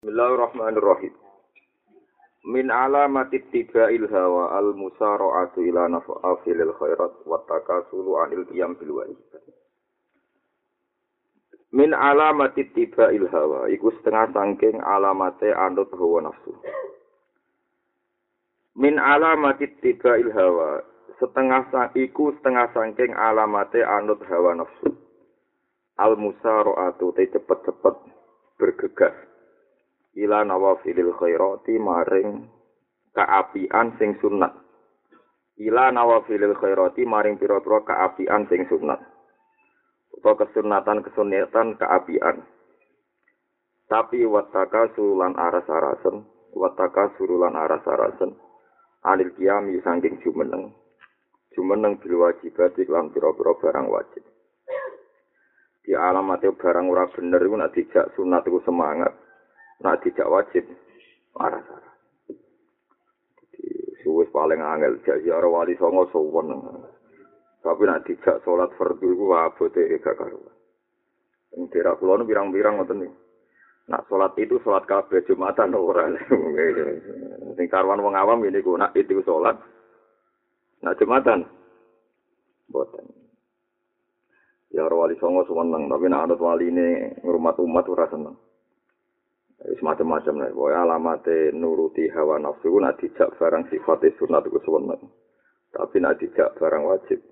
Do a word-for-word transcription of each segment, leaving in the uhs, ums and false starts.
Bismillahirrahmanirrahim. Min alamati tibail hawa al musara'atu ila naf'afil khairat wa takasulu anil qiyam bil wajib. Min alamati tibail hawa iku setengah sangking alamate anut hawa nafsu. Min alamati tibail hawa setengah sang iku setengah sangking alamate anut hawa nafsu. Al musara'atu te cepet-cepet bergegas. Ila nawafilil khairati maring kaapian sing sunat. Ila nawafilil khairati maring pira-pira kaapian sing sunat. Utawa kesunatan kesunatan kaapian. Tapi wataka sulan aras-arasen, wataka surulan aras-arasen. Anil qiyami saking jumeneng. Jumeneng bil wajibat lan pira-pira barang wajib. Di alamate barang ora bener iku nek dijak sunat iku semangat. Nak tidak wajib arah-arah. Jadi suwes paling angel jak ziarah wali songo sowan. Tapi nak tidak salat fardhu iku abote gak karuan. Ing daerah kula nu pirang-pirang ngoten niku. Nak salat itu salat kabeh Jumatan ora. Sing karuan wong awam ngene iku nak itu salat. Nak Jumatan mboten. Ya wali songo seneng, tapi nak anut waline ngrumat umat ora seneng. Semacam-macam lah, pokoknya alamate nuruti hawa nafsu, nak dijak barang sifatnya sunat itu sewenang. Tapi nak dijak barang wajib.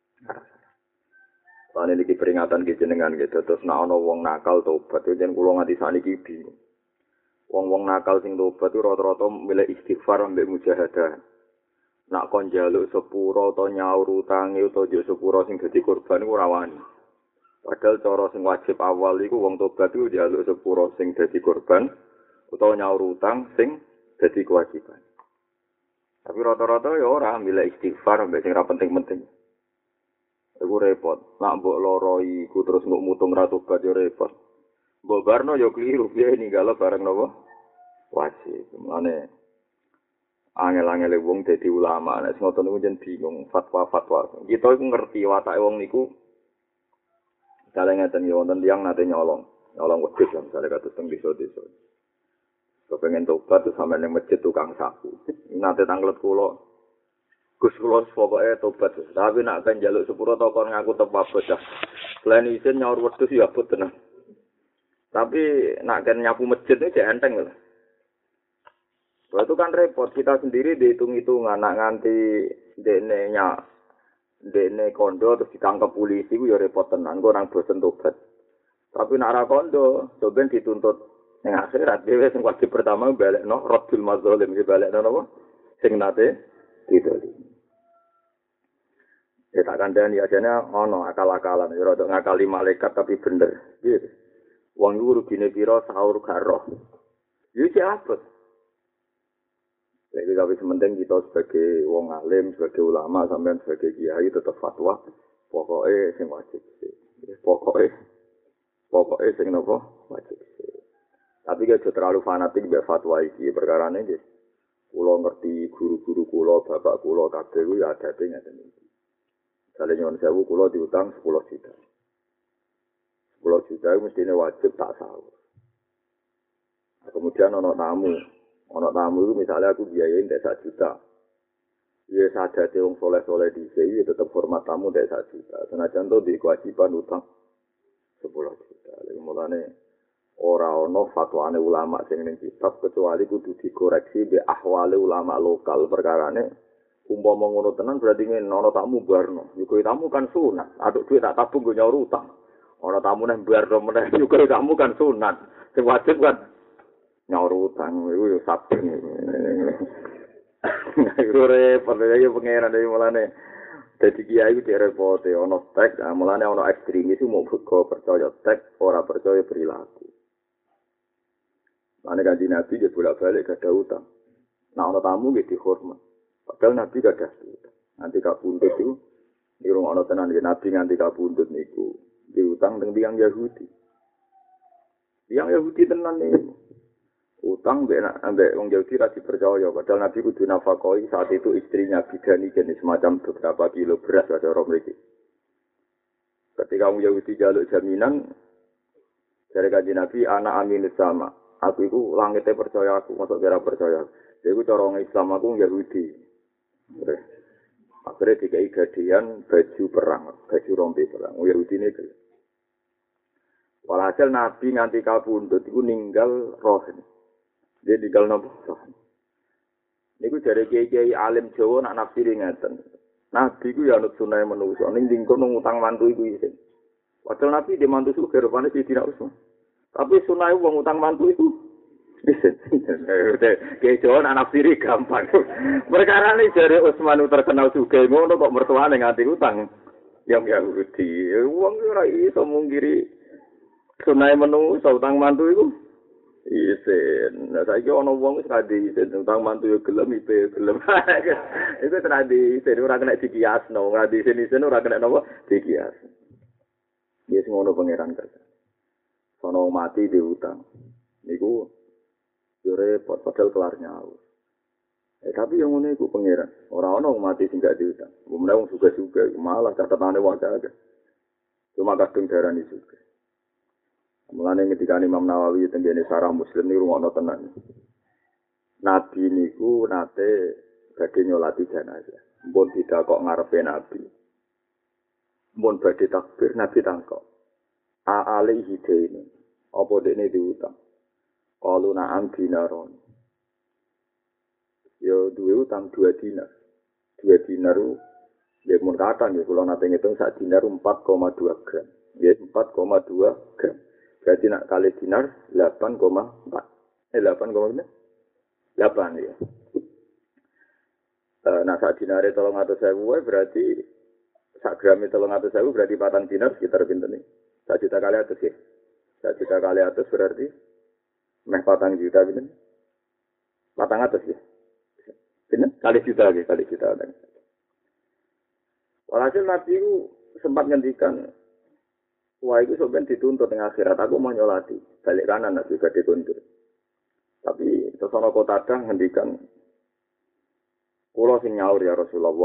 Soalnya ini peringatan gitu dengan gitu, terus nak ada wong nakal tobat, itu jangan kulo nganti saniki bingung. Wong-wong nakal sing tobat itu rata-rata milih istighfar ambek mujahadah. Nak kon njaluk sepuro atau nyaur utange atau njuk sepuro sing dadi korban iku ora wani. Padahal cara sing wajib awal iku wong tobat iku njaluk sepuro sing dadi korban utawa nyaur utang sing dadi kewajiban. Tapi rata-rata ya ora milih istighfar ambek sing ora penting-penting. Iku repot. Nak mbok loro iku terus mbok mutung ra tobat ya repot. Mbok barno ya kliru piye ninggalo bareng napa? Wajib. Mane angel-angel wong dadi ulama nek ngoten niku jen bingung fatwa-fatwa. Kita iku ngerti watake wong niku. Kalau ngeten yo wonten tiyang nate nyolong, nyolong wedhus lah misale kados teng desa-desa. Kepengen tobat terus sampe ning masjid tukang sapu. Nate tanglet kula. Gus kula pokoke tobat. Tapi nek kan njaluk sepuro to kon ngaku tepak bocah. Selain isin nyaur wedhus ya abot tenan. Tapi nek kan nyapu masjid iki enteng lho. Wah itu kan repot, kita sendiri dihitung-hitungan nak nganti dene nyak dene kondo terus ditangkap polisi ku ya repot tenan, kok orang bosen tobat. Tapi nak ra kondo, coben dituntut ning akhirat dhewe sing wajib pertama balekno Rabbul Mazalim, balekno napa? Sing nate didoli. Ya tak kandhani ajane ana akal-akalan, ya rada ngakali malaikat tapi bener. Gitu. Wong iku rugine pira sahur garo. Yo iki abot. Jadi tapi sementing kita sebagai wong alim, sebagai ulama, sampean sebagai kiai tetap fatwa. Pokoknya sing wajib sih. Pokoknya, pokoknya sing nopo wajib sih. Tapi gak terlalu fanatik be fatwa iki. Perkara ini guys, kulo ngerti guru-guru kulo, bapak kulo, kabeh ku ya ada tinggal ini. Misalnya nyon sewu kulo diutang sepuluh juta. Sepuluh juta itu mestinya wajib tak sahur. Nah, kemudian ono tamu. Ono tamu itu misalnya aku biayain dari satu juta. Ya sadar wong soleh-soleh di sini tetap hormat tamu dari satu juta. Senajan itu di kewajiban utang sepuluh juta. Lalu mulane ora ono fatwane ulama sing ning kitab kecuali kudu dikoreksi be ahwale ulama lokal perkarane umpama ngono tenan berarti ngene ono tamu barno. Yuko tamu kan sunat. Aduk duit tak tabung go nyaur utang. Ono tamu nang barno meneh yuko tamu kan sunat. Sing wajib kan nyaur utang iku yo sabtu. Iku repot ya pengeran dari mulane. Dadi kiai iku repot ono tek, mulane ono ekstremis mau kok percaya tek, ora percaya perilaku. Mane kanjeng Nabi dia bolak-balik gak ada utang. Nah ono tamu nggih dihormat. Padahal Nabi gak ada utang. Nanti kapundhut itu irung ono tenan Nabi nganti kapundhut niku diutang teng tiyang Yahudi. Tiyang Yahudi tenan niku. Utang mbek ambek wong Yahudi ra dipercaya padahal Nabi kudu nafakoi saat itu istrinya bidani jenis semacam beberapa kilo beras ada orang mriki. Ketika wong Yahudi jaluk jaminan dari kanjeng Nabi anak amin sama Aku iku langite percaya aku, masuk kira percaya. Iku cara wong Islam aku Yahudi. Akhirnya dikai gadian baju perang, baju rompi perang. Yahudi ini gelem. Walhasil Nabi nganti kabundut iku ninggal roh. Dia ninggal napa? Roh. Niku dari kiai-kiai alim Jawa nak nafsiri ngeten. Nabi ku ya anut sunah manusa ning dingkon ngutang mantu iku isin. Padahal Nabi di mantu suka rupane Sidina Utsman. Tapi sunah wong utang mantu iku isin. Kiai Jawa nak nafsiri gampang. Perkara ini jare Utsman terkenal juga ngono kok mertuane nganti utang. Yang Yahudi, wong ora iso mungkiri sunah manusa utang mantu iku. Isen, nah saiki ana wong wis radi isen utang mantu yo gelem ipe gelem. Iku radi isen ora kena dikiasno, radi isen-isen ora kena napa dikias. Wis ngono pangeran kerja. Sono mati di utang. Niku yo repot padahal kelar nyaur. Eh tapi yang ngono iku pangeran, ora ana wong mati sing gak diutang. Wong wong juga-juga malah catatane wae akeh. Cuma kadung darani juga. Mulane ketika Imam Nawawi tenggene sarah Muslim niku rungokno tenan. Nabi niku nate badhe nyolati jenazah. Mbon tidak kok ngarepe Nabi. Mbon badhe takbir Nabi tangkok. A alaihi daini. Apa dekne diutang? Qalu na'am dinaron. Yo duwe utang dua dinar. Dua dinar ya mun katan ya kula nate ngitung sak dinar empat koma dua gram. Ya empat koma dua gram. Berarti nak kali dinar delapan koma empat. Eh delapan koma delapan ya. E, nah sak dinare tolong atus sewu berarti sak gram tolong atus sewu berarti patang dinar sekitar pinten nih. Sak juta kali atus ya. Sak juta kali atus berarti meh patang juta pinten. Patang atus ya. Pinten? Kali juta ya, kali juta. Walhasil Nabi itu sempat ngendikan wah itu sebenarnya dituntut dengan akhirat. Aku mau nyolati. Balik kanan Nabi juga dituntut. Tapi sesono kota dah ngendikan. Kulo sing nyaur ya Rasulullah.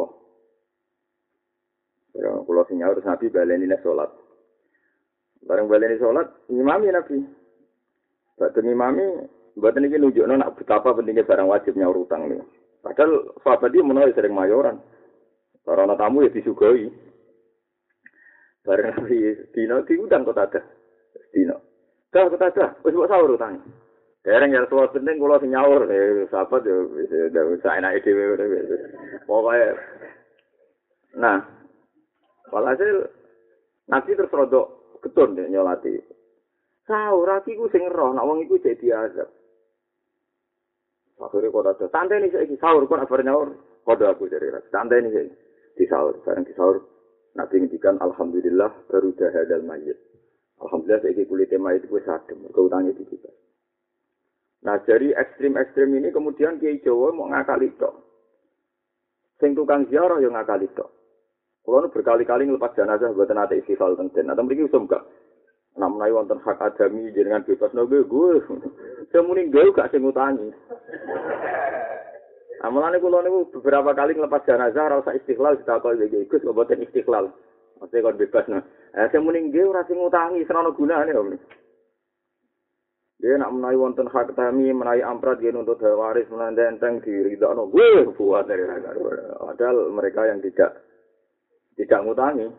Ya, kulo sing nyaur Nabi baleni nek salat. Bareng baleni salat, ngimami Nabi. Badhe ngimami, mboten iki nunjukno nak betapa pentingnya barang wajib nyaur utang niku. Padahal sahabat iki menawa sering mayoran. Karena tamu ya disugoi. Bareng hari dino diundang kok ada. Dino. Dah kok ada. Wis mbok sahur utang. Dereng ya suwe penting kula sing nyaur eh sahabat yo wis sak enake dhewe wis. Pokoke nah, walhasil Nabi terus rodok ketun deh nyolati. Sahur iki ku sing roh, nek wong iku jek diazab. Akhire kok ada. Santai nih saiki sahur kok bar nyaur. Kodho aku jare santai nih saiki. Di sahur, bareng di sahur Nabi ngendikan alhamdulillah baru dahadal mayit. Alhamdulillah saiki kulite mayit wis adem, mergo utange dibebas. Nah, dari ekstrim-ekstrim ini kemudian Kiai Jawa mau ngakali tok. Sing tukang ziarah yo ngakali tok. Kulo nu berkali-kali nglepas jenazah mboten ate istighfar teng den. Atau mriki usum gak. Nek menawi wonten hak adami jenengan bebas nopo gue. Semuni gue gak sing ngutangi. Amalane kula niku beberapa kali nglepas jenazah ora usah istiqlal ditakoni iki Gus kok boten istiqlal. Mesti kon bebas nah. Eh sing muni nggih ora sing ngutangi senono gunane om. Dia nak menawi wonten hak tami menawi amprat dia nuntut waris menanda enteng diridakno. Wih buat dari raga. Padahal mereka yang tidak tidak ngutangi.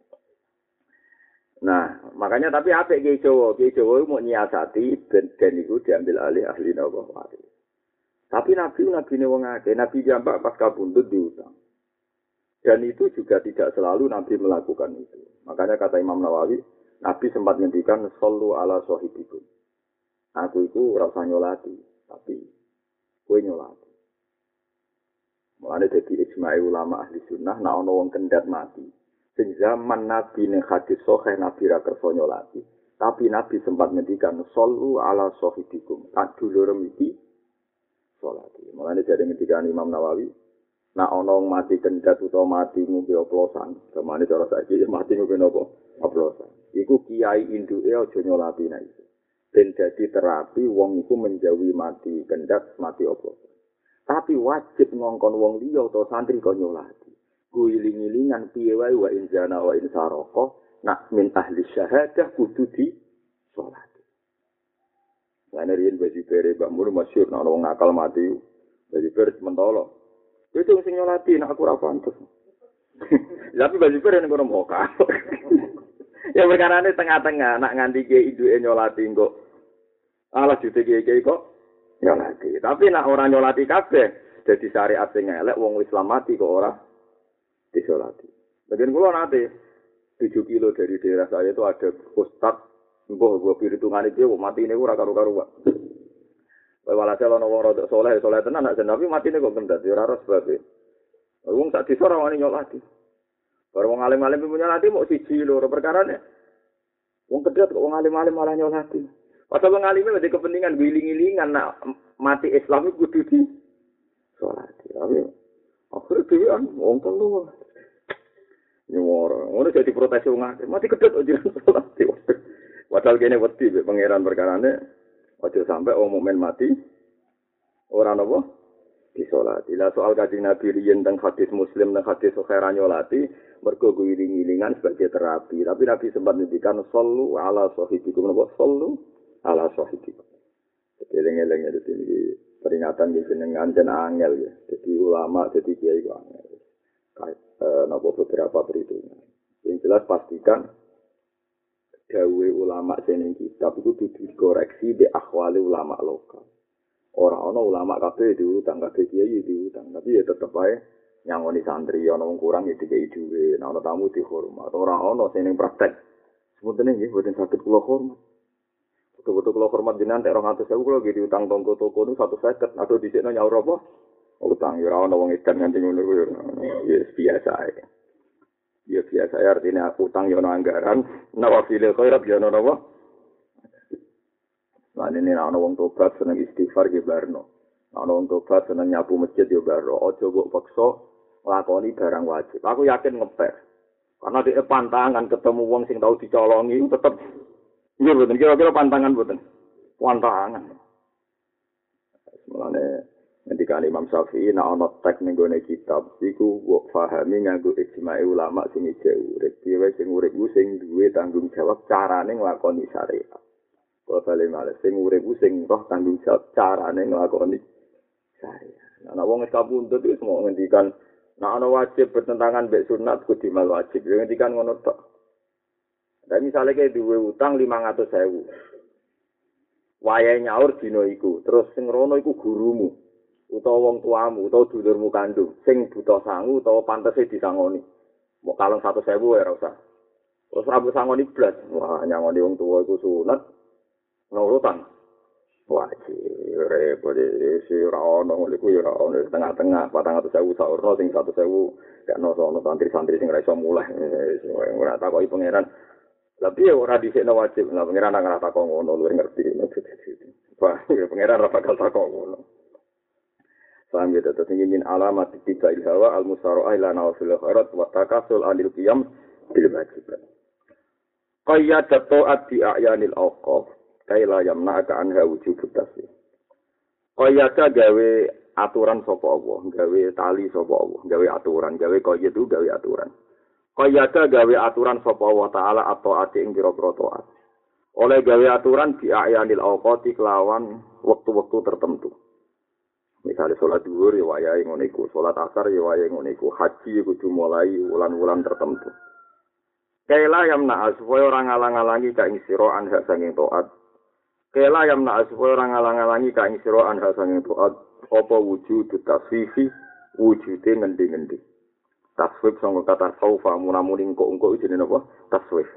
Nah, makanya tapi apik Kiai Jawa, Kiai Jawa mau nyiasati ben den iku diambil alih ahli napa waris. Tapi Nabi Nabi ini wong akeh, Nabi jambak pas kabundut diutang. Dan itu juga tidak selalu Nabi melakukan itu. Makanya kata Imam Nawawi, Nabi sempat ngendikan sallu ala sahibikum. Aku itu ora usah nyolati, tapi kowe nyolati. Mulane dadi ijma' ulama ahli sunnah nek ana wong kendhat mati. Sing zaman Nabi ning hadis sahih Nabi ra kersa nyolati, tapi Nabi sempat ngendikan sallu ala sahibikum. Tak dulur iki salat. Mulane jare ngendika Imam Nawawi, nek ana wong mati kendhat utawa mati ngombe oplosan, gamane cara saiki mati ngombe napa? Oplosan. Iku kiai induke aja nyolati nek iso. Ben dadi terapi wong iku menjauhi mati kendhat, mati oplosan. Tapi wajib ngongkon wong liya utawa santri kok nyolati. Guling-gilingan piye wae wa inzana wa insaraka nak min ahli syahadah kudu di salat. Lane riyen baju bere Mbah Mun masyhur nek wong nakal mati. Baju bere mentolo. Itu sing nyolati nek aku ora pantes. Tapi baju bere nek ngono moka. Ya perkarane tengah-tengah nak nganti ke iduke nyolati kok. Alah jute kiye kok nyolati. Tapi nak ora nyolati kabeh dadi syariat sing elek wong Islam mati kok ora disolati. Bagian kula nate tujuh kilo dari daerah saya itu ada ustaz mbah gua pirhitungan iki mati ini ora karo-karuan. Walhasil ana wong rodok saleh saleh tenan nak tapi matine kok kendat ora ros bae. Wong sak desa ora wani nyolati. Baru wong alim-alim nyolati mok siji loro perkarane. Wong kedhat kok wong alim-alim malah nyolati. Padahal wong alime wedi kepentingan wiling-wilingan nak mati Islam iku kudu di salati. Tapi akhire dhewean wong telu. Nyuwara, ngono jadi protes wong akeh. Mati kedhet kok jiran salati. Padahal kene wedi mek pangeran perkarane aja sampe wong mukmin mati ora napa disolati. Lah soal Kanjeng Nabi riyen teng hadis Muslim teng hadis Bukhari nyolati mergo wiling-wilingan sebagai terapi. Tapi Nabi sempat ngendikan sallu ala sahibikum napa sallu ala sahibikum. Eling-eling iki peringatan iki jenengan den angel ya. Jadi ulama jadi kiai kok angel. Kayak eh, napa beberapa perhitungan. Yang jelas pastikan dawe ulama sing kitab itu kudu dikoreksi di akhwali ulama lokal. Ora ana ulama kabeh diutang kabeh kiai diutang, tapi ya tetep ae nyangoni santri ana wong kurang ya dikei dhuwit, ana tamu dihormat. Ora ana sing ning praktek. Sementene nggih boten saged kula hormat. Betul-betul kula hormat jenengan tek rong atus ewu kula nggih diutang tonggo-toko niku seratus lima puluh atau dhisikno nyaur apa? Utang ya ora ana wong edan nganti ngono kuwi ya biasa ae. Ya biasa ya artinya utang ya ana anggaran, nek wasile khairat ya ana apa? Lah ini ana wong tobat seneng istighfar ge barno. Ana wong tobat seneng nyapu masjid yo barno. Aja kok paksa nglakoni barang wajib. Aku yakin ngepek. Karena di pantangan ketemu wong sing tau dicolongi tetep nggih mboten kira-kira pantangan mboten. Pantangan. Mulane ketika Imam Syafi'i nek ana tek ning gone kitab iku kok pahami nganggo ijma' ulama sing isih urip. Dhewe sing urip ku sing duwe tanggung jawab carane nglakoni syariat. Kok bali male sing urip ku sing roh tanggung jawab carane nglakoni syariat. Ana wong wis kabuntut wis mau ngendikan nek ana wajib bertentangan mbek sunat kudu mal wajib. Ngendikan ngono tok. Dan misalnya kayak duwe utang lima ratus ribu. Wayahe nyaur dina iku, terus sing rono iku gurumu. Utawa wong tuamu utawa dulurmu kandung sing buta sangu utawa pantese disangoni. Mbok kalung seratus ribu ya ora usah. Terus rambut sangoni blas. Wah, nyangoni wong tuwa iku sunat. Nurutan. Wajib repot iki ora ono ngono iku ya ora ono tengah-tengah patang atus ribu saurno sing seratus ribu gak ono santri-santri sing ora iso mulih. Ora takoki pangeran. Tapi ora dhisikno wajib. Lah pangeran ora takok ngono luwih ngerti. Wah, pangeran ora bakal takok ngono. Paham ya, tetap ingin alamat tiba ilhawa al-musara'ah ila nawafil khairat wa takasul anil qiyam bil wajibat. Qayyada ta'at bi a'yanil awqaf kaila yamna'aka anha wujubut tasbih. Qayyada gawe aturan sapa Allah, gawe tali sapa Allah, gawe aturan, gawe qayyad itu gawe aturan. Qayyada gawe aturan sapa Allah taala atau ati ing pira-pira taat. Oleh gawe aturan bi a'yanil awqati kelawan waktu-waktu tertentu. Misalnya sholat duhur ya wayahe ngono iku, sholat asar ya wayahe ngono iku, haji kudu mulai wulan-wulan tertentu. Kaila yamna supaya ora ngalang-alangi ka ing sira anha sanging taat. Kaila yamna supaya ora ngalang-alangi ka ing sira anha sanging taat, apa wujud tasfifi wujude ngendi-ngendi. Tasfif sanggo kata saufa munamuning kok-kok jenenge apa? Tasfif.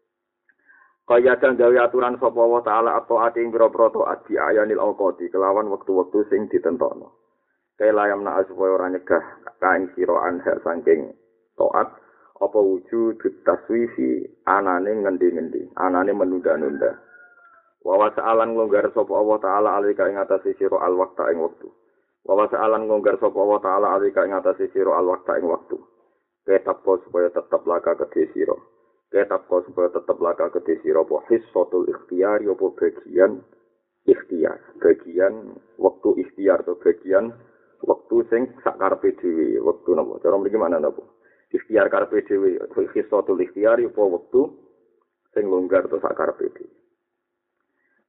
Kaya dan gawe aturan sapa wa taala atau ati ing pira-pira taat di ayanil awqati kelawan wektu-wektu sing ditentokno. Kaya yamna supaya ora nyegah kaing sira anha saking taat apa wujud taswifi anane ngendi-ngendi, anane menunda-nunda. Wa wasa'alan nglonggar sapa Allah taala alika ing atase sira al waqta ing wektu. Wa wasa'alan nglonggar sapa Allah taala alika ing atase sira al waqta ing wektu. Ketap supaya tetep laka kedhe sira. Ketap kau supaya tetap laka kedhe sira apa hissatul ikhtiyar apa bagian ikhtiar, bagian waktu ikhtiar atau bagian waktu sing sak karepe dhewe, wektu napa? Cara mriki mana napa? Ikhtiar karepe dhewe, hissatul ikhtiyar apa waktu sing longgar atau sak karepe dhewe.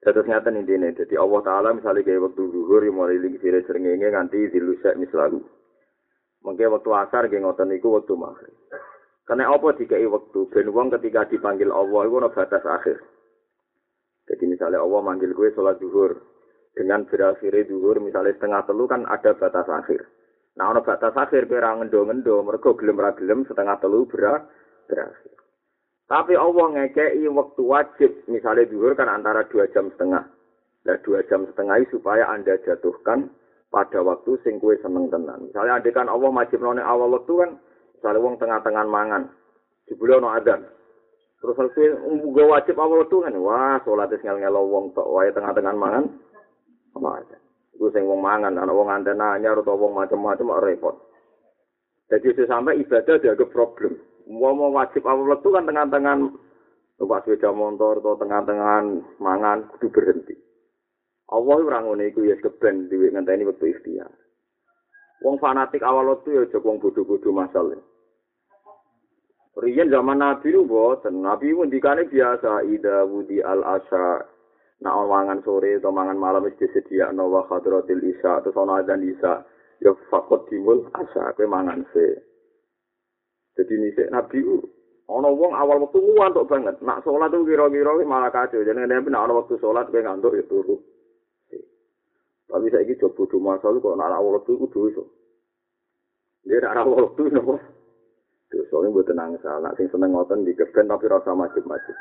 Terus ngaten intine, dadi Allah taala misale gawe wektu zuhur mulai ling sire srengenge nganti dilusek mislalu. Mengke wektu asar nggih ngoten niku wektu maghrib. Karena apa dikai wektu ben wong ketika dipanggil Allah iku ana batas akhir. Jadi misalnya Allah manggil gue sholat zuhur dengan berakhir zuhur misalnya setengah telu kan ada batas akhir. Nah ana batas akhir kowe ra ngendo-ngendo mergo gelem ra gelem setengah telu bera berakhir. Tapi Allah ngekei waktu wajib, misalnya zuhur kan antara dua jam setengah. Nah dua jam setengah supaya Anda jatuhkan pada waktu sing kue seneng tenan. Misalnya ada kan Allah wajib none awal waktu kan, misalnya wong tengah-tengah mangan, jebule ono adzan. Terus saya umbu wajib awal waktu kan, wah sholat ngel-ngelo wong tok wae tengah-tengah mangan, apa aja. Iku sing wong mangan, ana wong nganten anyar utawa wong macam-macam repot. Jadi sampai ibadah dianggap problem. Mau mau wajib awal waktu kan tengah-tengah numpak sepeda motor atau tengah-tengah mangan kudu berhenti. Allah ora ngono iku ya keben dhewe ngenteni wektu ikhtiar. Wong fanatik awal waktu ya aja wong bodho-bodho masalah. Riyen zaman Nabi lu boten, Nabi ngendikane biasa ida wudi al asya. Nah mangan sore atau mangan malam wis disediakno wa hadratil isya terus ana adzan isya ya faqat dimul asya kowe mangan se. Jadi ini Nabi ana wong awal waktu ngantuk banget. Nak sholat tuh kira-kira malah kacau. Jadi nek ana waktu sholat kowe ngantuk ya turu. Tapi saiki coba bodho masalah kok nak awal waktu iku dosa. Dia nak awal waktu napa? Dosa iki mboten angsal. Nak sing seneng ngoten dikeben tapi rasa wajib-wajib.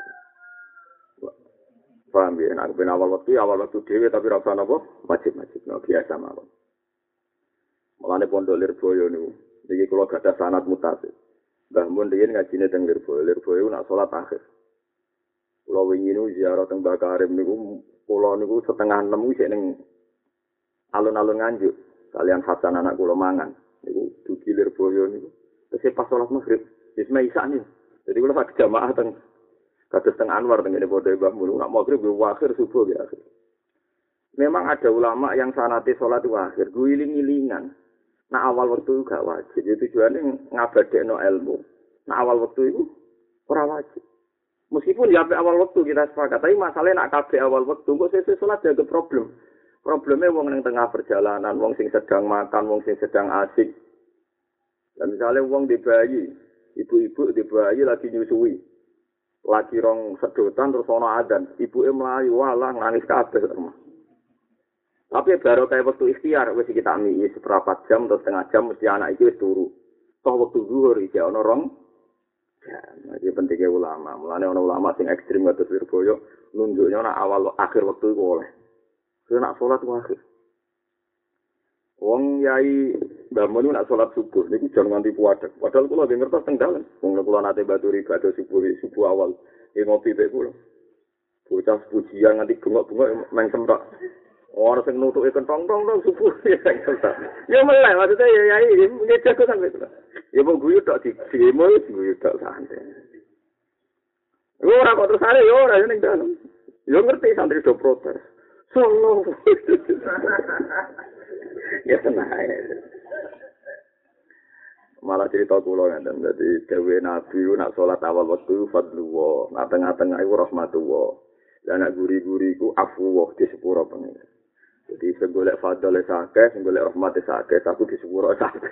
Paham ya? Nak ben awal waktu awal waktu dhewe tapi rasa napa? Wajib-wajib. Nah, biasa mawon. Mulane pondok Lirboyo niku. Niki kula gadah sanad mutasil. Mbah mun riyen ngajine teng Lirboyo, Lirboyo nak salat akhir. Kula wingi niku ziarah teng Mbah Karim niku kula niku setengah enam wis ning alun-alun Nganjuk. Kalian Hasan anak kula mangan. Niku dugi Lirboyo niku. Terus pas salat maghrib, wis isak niku. Jadi kula sak jamaah teng kados teng Anwar teng ngene padha Mbah Mun nak maghrib yo akhir subuh ya akhir. Memang ada ulama yang sanate salat itu akhir, guling-gilingan. Nah awal waktu gak wajib, itu tujuannya ngabadekno ilmu. Nah awal waktu itu ora wajib. Meskipun ya awal waktu kita sepakat, tapi masalahnya nak kabeh awal waktu, kok sesuk salat ada problem. Problemnya wong ning tengah perjalanan, wong sing sedang makan, wong sing sedang asik. Dan misalnya wong di bayi, ibu-ibu di bayi lagi nyusui, lagi rong sedotan terus ana adzan, ibuke mlayu walah nangis kabeh. Tapi baru kayak waktu ikhtiar, wis kita ambil seperempat jam atau setengah jam, mesti anak itu wis turu. Toh waktu zuhur iki ana rong jam. Iki pentingnya ulama. Mulane ana ulama sing ekstrem kados Lirboyo nunjuknya nak awal akhir waktu iku oleh. Kuwi nak salat ku akhir. Wong yai Mbah Mun nak salat subuh niku jan nganti puadeg. Padahal kula nggih ngertos teng dalem. Wong kula nate baturi ibadah subuh subuh awal. Nggih ngopi mek kula. Bocah pujian nganti bengok-bengok main semrak. Orang sing nutuke kentong-tong tong subuh ya enggak. Ya meleh maksudnya ya ya iki jago sampe itu. Ya mau guyu tok di demo guyu tok santai. Ora kok terus are yo ora ning dalem. Yo ngerti santri do protes. Solo. Ya tenang. Malah cerita kula ngeten dadi dewe Nabi nak salat awal wektu fadlullah, nak tengah-tengah iku rahmatullah. Lah nak guri-guri iku afwah di sepuro pengen. Jadi saya golek fadl sakeh, saya golek rahmat sakeh, aku di sepuro sakeh.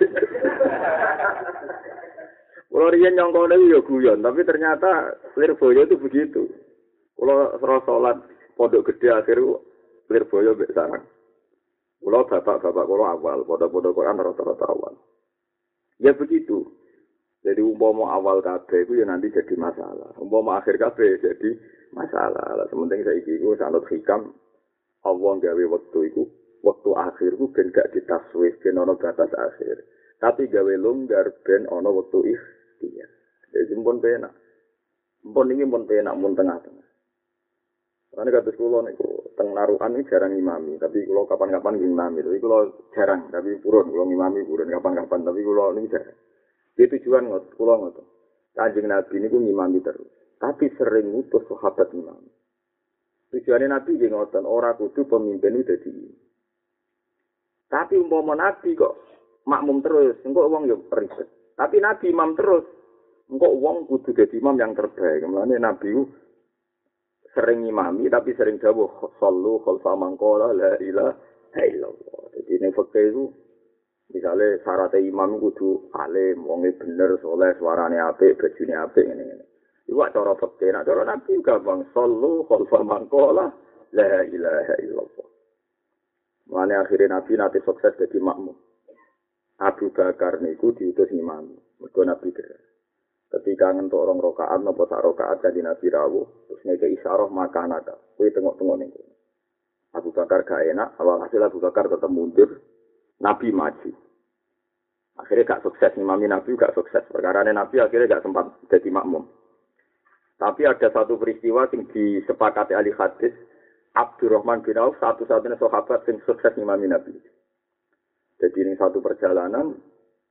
Kalau riyen nyongkone yo guyon, tapi ternyata Lirboyo itu begitu. Kalau serah salat pondok gede akhir Lirboyo mbek sarang. Kalau bapak-bapak kalau awal, pondok-pondok Quran rata-rata awal. Ya begitu. Jadi umpama awal kabeh itu ya nanti jadi masalah. Umpama akhir kabeh jadi masalah. Lah sementing saiki iku sanad hikam Allah gawe waktu iku, waktu akhir ku ben gak ditaswif ben ana batas akhir. Tapi gawe longgar ben ana waktu ikhtiar. Jadi pun penak. Pun iki pun penak mun tengah-tengah. Karena kados kula niku teng narukan iki jarang ngimami, tapi kula kapan-kapan ngimami. Tapi kula jarang, tapi purun kula ngimami purun kapan-kapan, tapi kula niku jarang. Itu tujuan ngot, kula ngoten. Kanjeng Nabi niku ngimami terus, tapi sering ngutus sahabat ngimami. Tujuannya Nabi nggih ngoten, ora kudu pemimpin itu dadi. Tapi umpama Nabi kok makmum terus, engko wong yo ribet. Tapi Nabi imam terus, engko wong kudu dadi imam yang terbaik. Mulane Nabi sering imami tapi sering dawuh sallu khalfa man qala la ilaha illallah. Jadi ning fikih itu misalnya syarat imam kudu alim, wonge bener, soleh, suarane apik, bajune apik ngene-ngene. Iku cara fikih, nek cara nabi gampang sallu khalfa man qala la ilaha illallah. Mulane akhirnya nabi nanti sukses jadi makmum. Abu Bakar niku diutus imam. Mergo nabi der. Ketika ngentuk orang rakaat napa sak rakaat kanjeng Nabi rawuh, terus ngeke isyarah makanaka. Kuwi tengok-tengok niku. Abu Bakar gak enak, awal hasil Abu Bakar tetap mundur, Nabi maju. Akhirnya gak sukses, imami Nabi gak sukses. Perkara Nabi akhirnya gak sempat jadi makmum. Tapi ada satu peristiwa yang disepakati ahli hadis, Abdurrahman bin Auf satu-satunya sahabat yang sukses imami Nabi. Jadi ini satu perjalanan,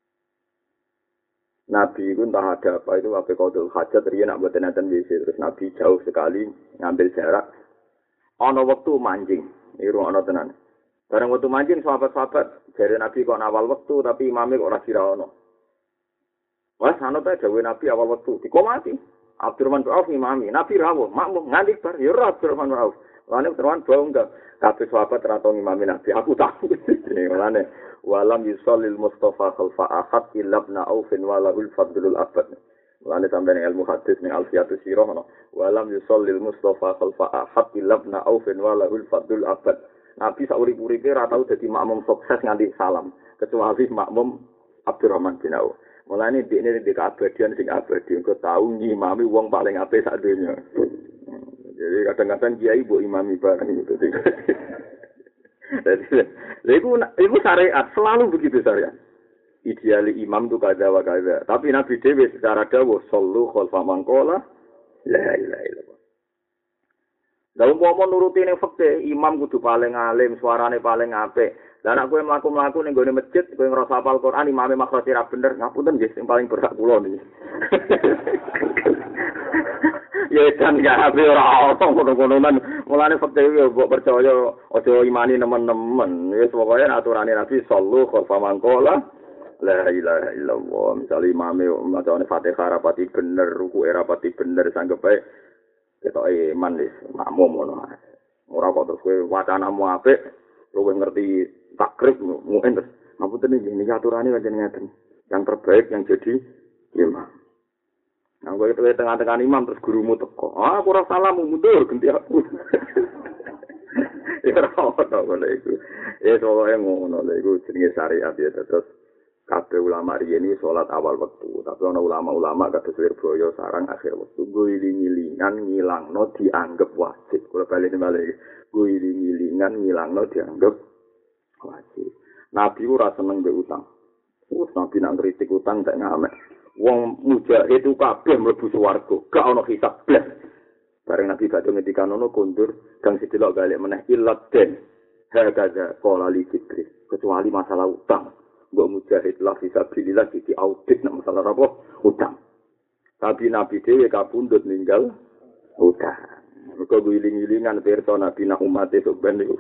Nabi itu entah ada apa itu apa qadul hajat riyen nak mboten enten W C terus Nabi jauh sekali ngambil jarak ana wektu manjing iru ana tenan bareng wektu manjing sahabat-sahabat jare Nabi kok awal wektu tapi imame kok ora sira ono wes ana ta dawuh Nabi awal wektu dikomati Abdurrahman bin Auf imami Nabi rawuh makmum nganti bar ya ora Abdurrahman bin Auf lane Abdurrahman bau enggak kabeh sahabat ra tau imami Nabi aku tahu lane walam yusallil Mustafa khalfa ahad illa ibn Aufin walahul fadlul abad. Mulane sampeyan ilmu hadis ning Alfiatus Sirah ono. Walam yusallil Mustafa khalfa ahad illa ibn Aufin walahul fadlul abad. Nabi sak urip-uripe ora tau dadi makmum sukses nganti salam, kecuali makmum Abdurrahman bin Auf. Mulane dekne di keabadian sing abadi engko tau ngimami wong paling apik sak donya. Jadi kadang-kadang kiai mbok imami bareng gitu. Jadi, itu, itu syariat, selalu begitu syariat. Ideali imam itu kada wa kada. Tapi Nabi Dewi secara dawuh, sallu khalfa man qala la ilaha illallah. Dalam umpama nuruti ning fikih, imam kudu paling alim, suarane paling apik. Lah nek kowe mlaku-mlaku ning gone masjid, kowe ngrasa hafal Quran, imame makhraj ra bener, ngapunten nggih sing paling berhak kula niki. Ya kan gak habis ora ono ngono-ngonoan. Mulane fakte yo mbok percaya aja imani nemen-nemen. Wis pokoke aturane Nabi sallu khalfa man qala la ilaha illallah. Misale imame macane Fatihah rapati bener, rukuke rapati bener sanggep ae ketoke iman wis makmum ngono. Ora kok terus kowe wacanamu apik, luwih ngerti takrib mungkin terus ngapunten iki niki aturane pancen ngeten. Yang terbaik yang jadi imam. Nang kowe itu tengah-tengah imam terus gurumu teko. Ah, aku ora salah mundur ganti aku. Ya ora ono ngono iku. Ya soalnya ngono lho iku jenenge syariat ya terus kabeh ulama riyen iki salat awal wektu, tapi ana ulama-ulama kados Wirboyo sarang akhir wektu guling-gilingan ngilangno dianggap wajib. Kula bali-bali guling-gilingan ngilangno dianggap wajib. Nabi ora seneng mbek utang. Wes nabi nang kritik utang tak ngamek. Wong mujahid itu kabeh mlebu swarga, gak ana hisab blas. Bareng Nabi badhe ngendikan ngono kondur kang sidelok balik meneh ilat den. Hagaza qala li Jibril, kecuali masalah utang. Mbok mujahid lah fisabilillah di audit nek masalah apa? Utang. Tapi Nabi dhewe kapundhut ninggal utang. Mergo guling-gilingan pirsa Nabi nak umat itu ben niku.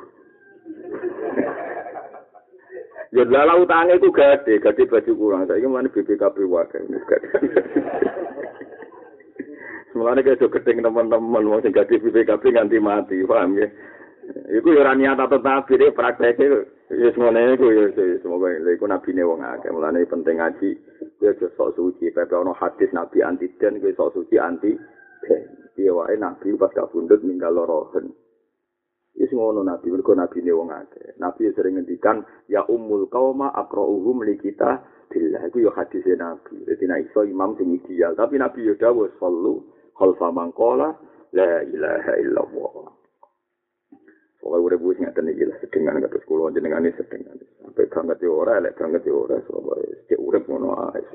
Ya lala utangnya itu gede, gede baju kurang. Saya ingin B B K B wakai. Semuanya kayak gedeng teman-teman, mau sing gede B B K B nganti mati, paham ya? Iku ya raniat atau tapi deh prakteknya, ya semuanya itu ya semoga itu nabi nih wong akeh. Mulane penting ngaji, ya sok suci. Pepe ono hadis nabi anti den, gue sok suci anti den. Dia wae nabi pas kabundut ninggal lorohen. Wis ngono nabi, mergo nabi ne wong akeh. Nabi sering ngendikan ya ummul qauma aqra'uhum li kita billah. Iku yo hadise nabi. Dadi nek iso imam sing ideal, tapi nabi yo dawuh sallu khalfa man qala la ilaha illallah. Pokoke urip wis ngaten iki lah sedengan kados kula jenengane sedengan. Sampai banget yo ora, lek banget yo ora, pokoke cek urip ngono ae.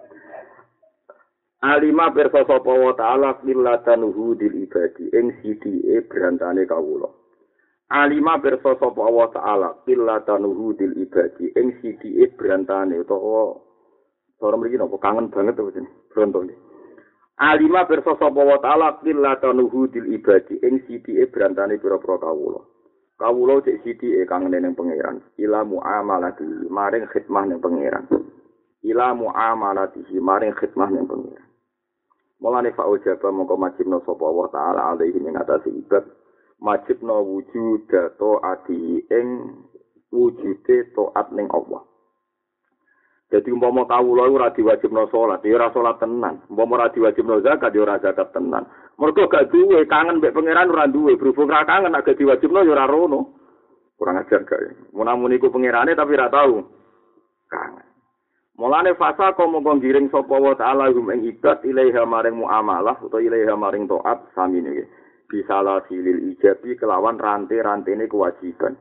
Alima perso sapa wa ta'ala millatanuhu dil ibadi ing sidike brantane kawula. Alima perso sapa wa ta'ala millatanuhu dil ibadi ing sidike brantane utawa ora mriki napa kangen banget to jeneng bronto iki. Alima perso sapa wa ta'ala millatanuhu dil ibadi ing sidike brantane pira-pira kawula. Kawula cek sidike kangen ning pangeran. Ila muamalati maring khidmah ning pangeran. Ila muamalati maring khidmah ning pangeran. Mulane fa ujaba mongko majibna sapa Allah taala alaihi ing atase ibad majibna wujud taati ing wujude taat ning Allah. Jadi umpama kawula ora diwajibna salat, ya ora salat tenan. Umpama ora diwajibna zakat, ya ora zakat tenan. Mergo gak duwe kangen mbek pangeran ora duwe, berhubung ra kangen nek diwajibna ya ora rono. Kurang ajar gak. Mun iku pangerane tapi ora tau kangen. Mulane fasa komo ngiring sapa wa ta'ala hum ing ibad ilaiha maring muamalah utawa ilaiha maring taat sami niki. Bisalah silil ijabi kelawan rantai-rantene kewajiban.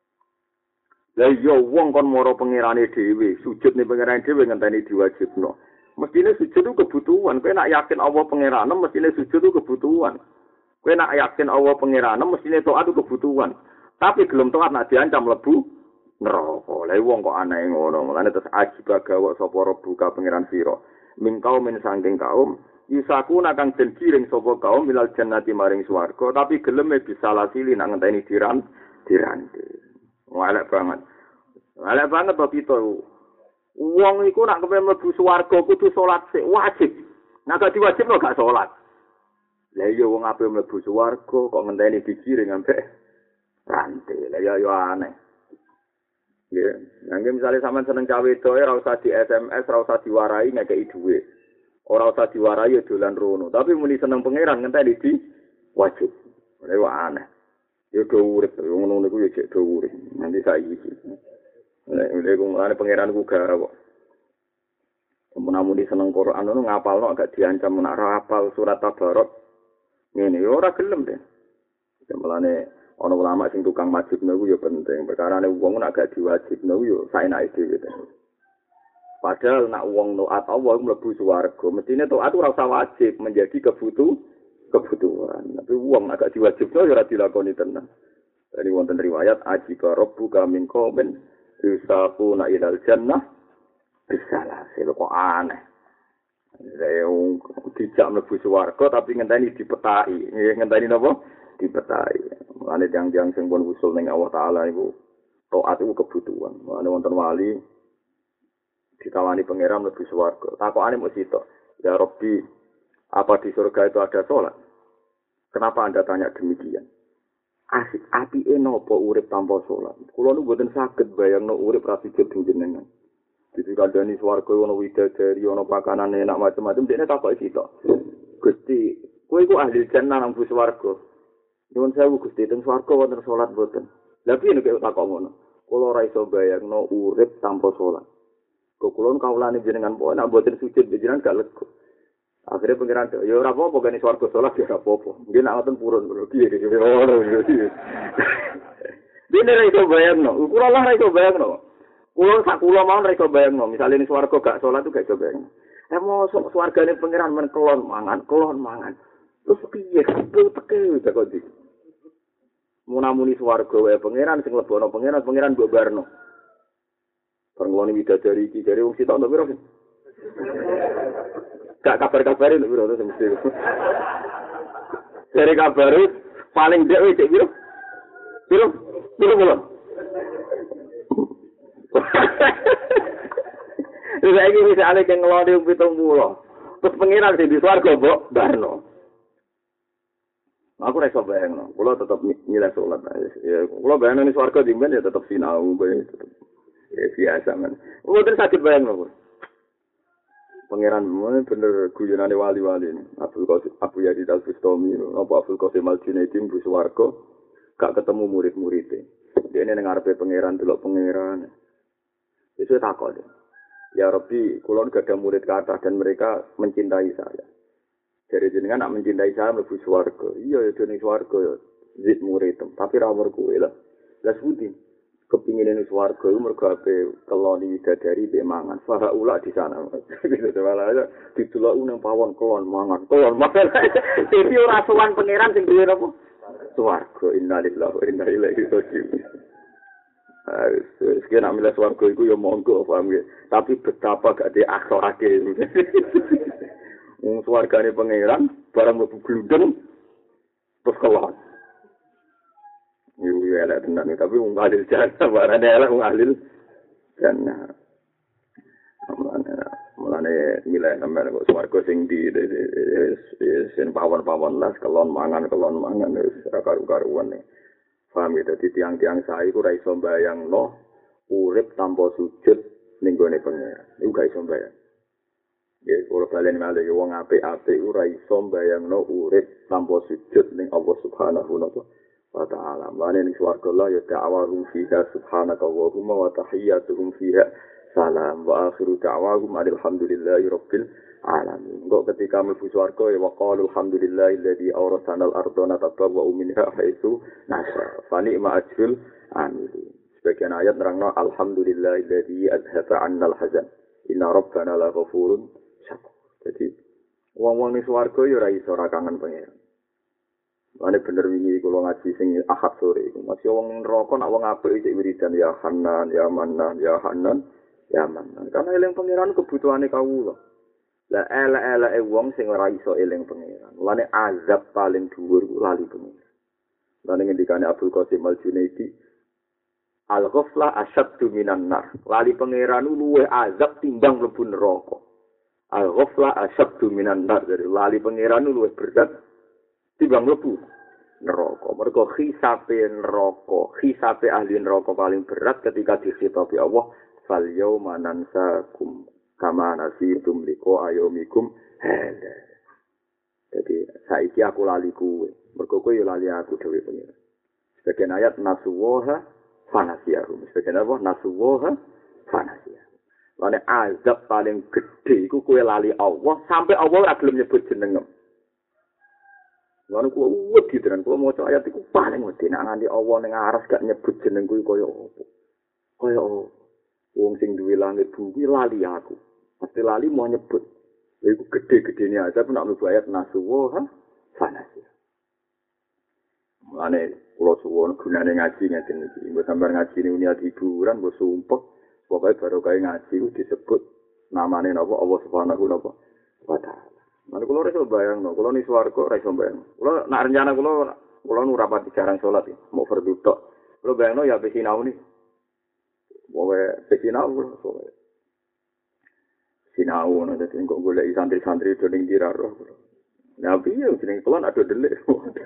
Lah iya wong kon mara pangerane dhewe, sujud ning pangerane dhewe ngenteni diwajibno. Mestine sujud itu kebutuhan. Kowe nak yakin Allah pangerane mestine sujud itu kebutuhan. Kowe nak yakin Allah pangerane mestine taat itu kebutuhan. Tapi gelem taat nak diancam lebu neraka. Lah wong kok aneh ngono. Mulane terus ajib gawa sapa rebuka pangeran sira. Min kaum min sangking kaum isaku nakang den kiring sapa kaum milal jannati maring swarga tapi geleme bisa lasili nak ngenteni diran dirante. Walek banget. Walek banget to kita. Wong iku nak kepen mlebu swarga kudu salat sik wajib. Nek gak diwajibno gak salat. Lah iya wong ape mlebu swarga kok ngenteni dikiring ambek rantai. Lah ya yo aneh. Ya, nangge misalnya sampean seneng cawe doe ora usah di S M S, ora usah diwarai ngekeki dhuwit. Ora usah diwarai ya dolan rono, tapi muni seneng pangeran ngenteni di wajib. Ora aneh. Ya do urip, ngono niku ya cek do urip. Nanti saiki iki. Nek nek ngene pangeran ku gara kok. Mun seneng Quran ngono ngapalno agak diancam nek ora hafal surat Tabarok. Ngene ya ora gelem deh. Mulane ana ulama sing tukang wajibno ku ya penting. Perkarane wong nek gak diwajibno ya saenake dhewe. Padahal nek wong taat Allah mlebu swarga, mestine taat ora usah wajib menjadi kebutuh kebutuhan. Tapi wong nek gak diwajibno ya ora dilakoni tenan. Dari wonten riwayat ajika rabbuka min qaumin yusaquna ilal jannah bisalah. Kok aneh. Reung dijak mlebu swarga tapi ngenteni dipetaki. Ngenteni napa? Dipetaki. Mulane tiang-tiang sing pun usul ning Allah Taala iku taat iku kebutuhan. Mulane wonten wali ditawani pangeran mlebu swarga. Takokane mung sitok. Ya Rabbi, apa di surga itu ada salat? Kenapa Anda tanya demikian? Asik apike napa urip tanpa salat? Kula nu mboten saged bayangno urip ra sujud jenengan. Jadi kandhani swarga ono widadari, ono pakanan enak macam-macam, dene takoki sitok. Gusti, kowe iku ahli jannah nang swarga. Nyuwun sewu Gusti, teng swarga wonten salat mboten. Lah piye nek takok ngono? Kula ora iso bayangno urip tanpa salat. Kok kula kawulane jenengan pokoke nek mboten sujud jenengan gak lega. Akhire pengiran ya ora apa-apa gane swarga salat ya ora apa-apa. Nggih nek ngoten purun piye iki ora piye. Dene ra iso bayangno. Kula lah ra iso bayangno. Kula sak kula mawon ra iso bayangno. Misale ning swarga gak salat tuh gak iso bayangno. Eh mosok swargane pengiran men kelon mangan, kelon mangan. Terus piye kabeh teke takon iki. Munamuni swarga wae pangeran sing lebono pangeran pangeran mbok barno. Perngone widadari iki jare wong sitok piro sih? Gak kabar-kabare lho piro to mesti. Jare kabar paling dhek wis piro? Piro? Piro piro? Wis iki wis ale keng ngloni pitung puluh. Terus pangeran sing di swarga mbok barno. Aku ora iso bayangno. Kula tetep nyileh salat. Ya, kula bayangno ning swarga dimben ya tetep sinau bae tetep. Ya biasa men. Mboten sakit bayangno. Pangeran bener guyonane wali-wali ini. Abdul Qasim Abu Yazid Al-Bustami, apa Abdul Qasim Al-Junaidi di swarga gak ketemu murid-muride. Dene ning ngarepe pangeran delok pangeran. Wis takok. Ya Rabbi, kula gak ada murid kathah dan mereka mencintai saya. Jadi jenengan nak mencintai saya mlebu swarga. Iya ya dene swarga ya zid murid, tapi ra werku lah. Lah sudi kepingin ning swarga iku mergo ape keloni widadari mbek mangan. Fara ula di sana. Gitu malah didelok nang pawon kelon mangan. Kelon mangan. Dadi ora sowan pangeran sing duwe apa? Swarga. Innalillahi wa inna ilaihi raji'un. Ah, sekian ambil swarga iku ya monggo paham ya. Tapi betapa gak di akhlake. Wong swargane pangeran barang mlebu glundeng terus kelon. Iku ya elek tenan tapi wong ahli jannah barane elek wong ahli jannah. Mulane mulane Mulane milih sampean kok swarga sing di sing pawon-pawon las kelon mangan kelon mangan wis ora karu-karuan. Paham ya, dadi tiang-tiang sae iku ora iso mbayangno urip tanpa sujud ning gone pangeran. Iku gak iso mbayang. Ya, kalau kalian malih wong apik-apik ora iso mbayangno urip tanpa sujud ning Allah Subhanahu wa ta'ala. Mane ning swarga Allah ya ta'awahum fiha subhanaka wa wa tahiyyatuhum fiha salam wa akhiru da'wahum alhamdulillahi rabbil alamin. Engko ketika mlebu swarga ya waqalu alhamdulillahilladzi awrasana al-ardha natabawwa'u minha haitsu nasha. Fa ni'ma ajrul amilin. Sebagian ayat nerangno alhamdulillahilladzi azhaba 'anna al-hazan. Inna rabbana laghafurun syakur. Jadi wong-wong ning swarga ya ora iso ora kangen pangeran. Mane bener wingi kula ngaji sing Ahad sore iku. Masih wong neraka nak wong apik iki wiridan ya Hanan, ya Manan, ya Hanan, ya Manan. Karena eling pangeran kebutuhane kawula. Lah elek-eleke wong sing ora iso eling pangeran. Mulane azab paling dhuwur ku lali pangeran. Lan ngendikane Abdul Qasim Al-Junaidi, al-ghaflah asyaddu minan nar. Lali pangeran luwih azab timbang mlebu neraka. Al-ghaflah asyaddu minan nar. Jadi lali pangeran luwih berat timbang mlebu neraka. Mergo khisape neraka, khisape ahli neraka paling berat ketika dikhitabi Allah, fal yauma nansakum kama nasitum liqa ayomikum hada. Jadi saiki aku lali kuwe, mergo kowe yo lali aku dhewe pengira. Sebagian ayat nasuwaha fanasiyahum. Sebagian apa nasuwaha fanasiyahum. Lane azab paling gede iku kowe lali Allah sampai Allah ora gelem nyebut jenengem. Lalu kuwi wedi tenan kuwi maca ayat iku paling wedi nek nganti Allah ning aras gak nyebut jeneng kuwi kaya apa. Kaya apa? Wong sing duwe langit bumi lali aku. Mesti lali mau nyebut. Iku gede-gedene azab nek mlebu ayat nasuwa fanasi. Mulane kula suwun gunane ngaji ngeten iki. Mbok sampeyan ngaji niat hiburan mbok sumpek pokoke baru kaya ngaji disebut namane napa Allah Subhanahu wa ta'ala. Mana kulo iso bayangno, kulo ni swarga ora iso bayang. Kulo nak rencana kulo kulo nu rapat jarang salat ya, mau fardhu tok. Kulo bayangno ya pesinau ni. Wae pesinau kulo. Sinau ngono dadi engko golek santri-santri do ning diraro. Nah piye jeneng kulo ada delik.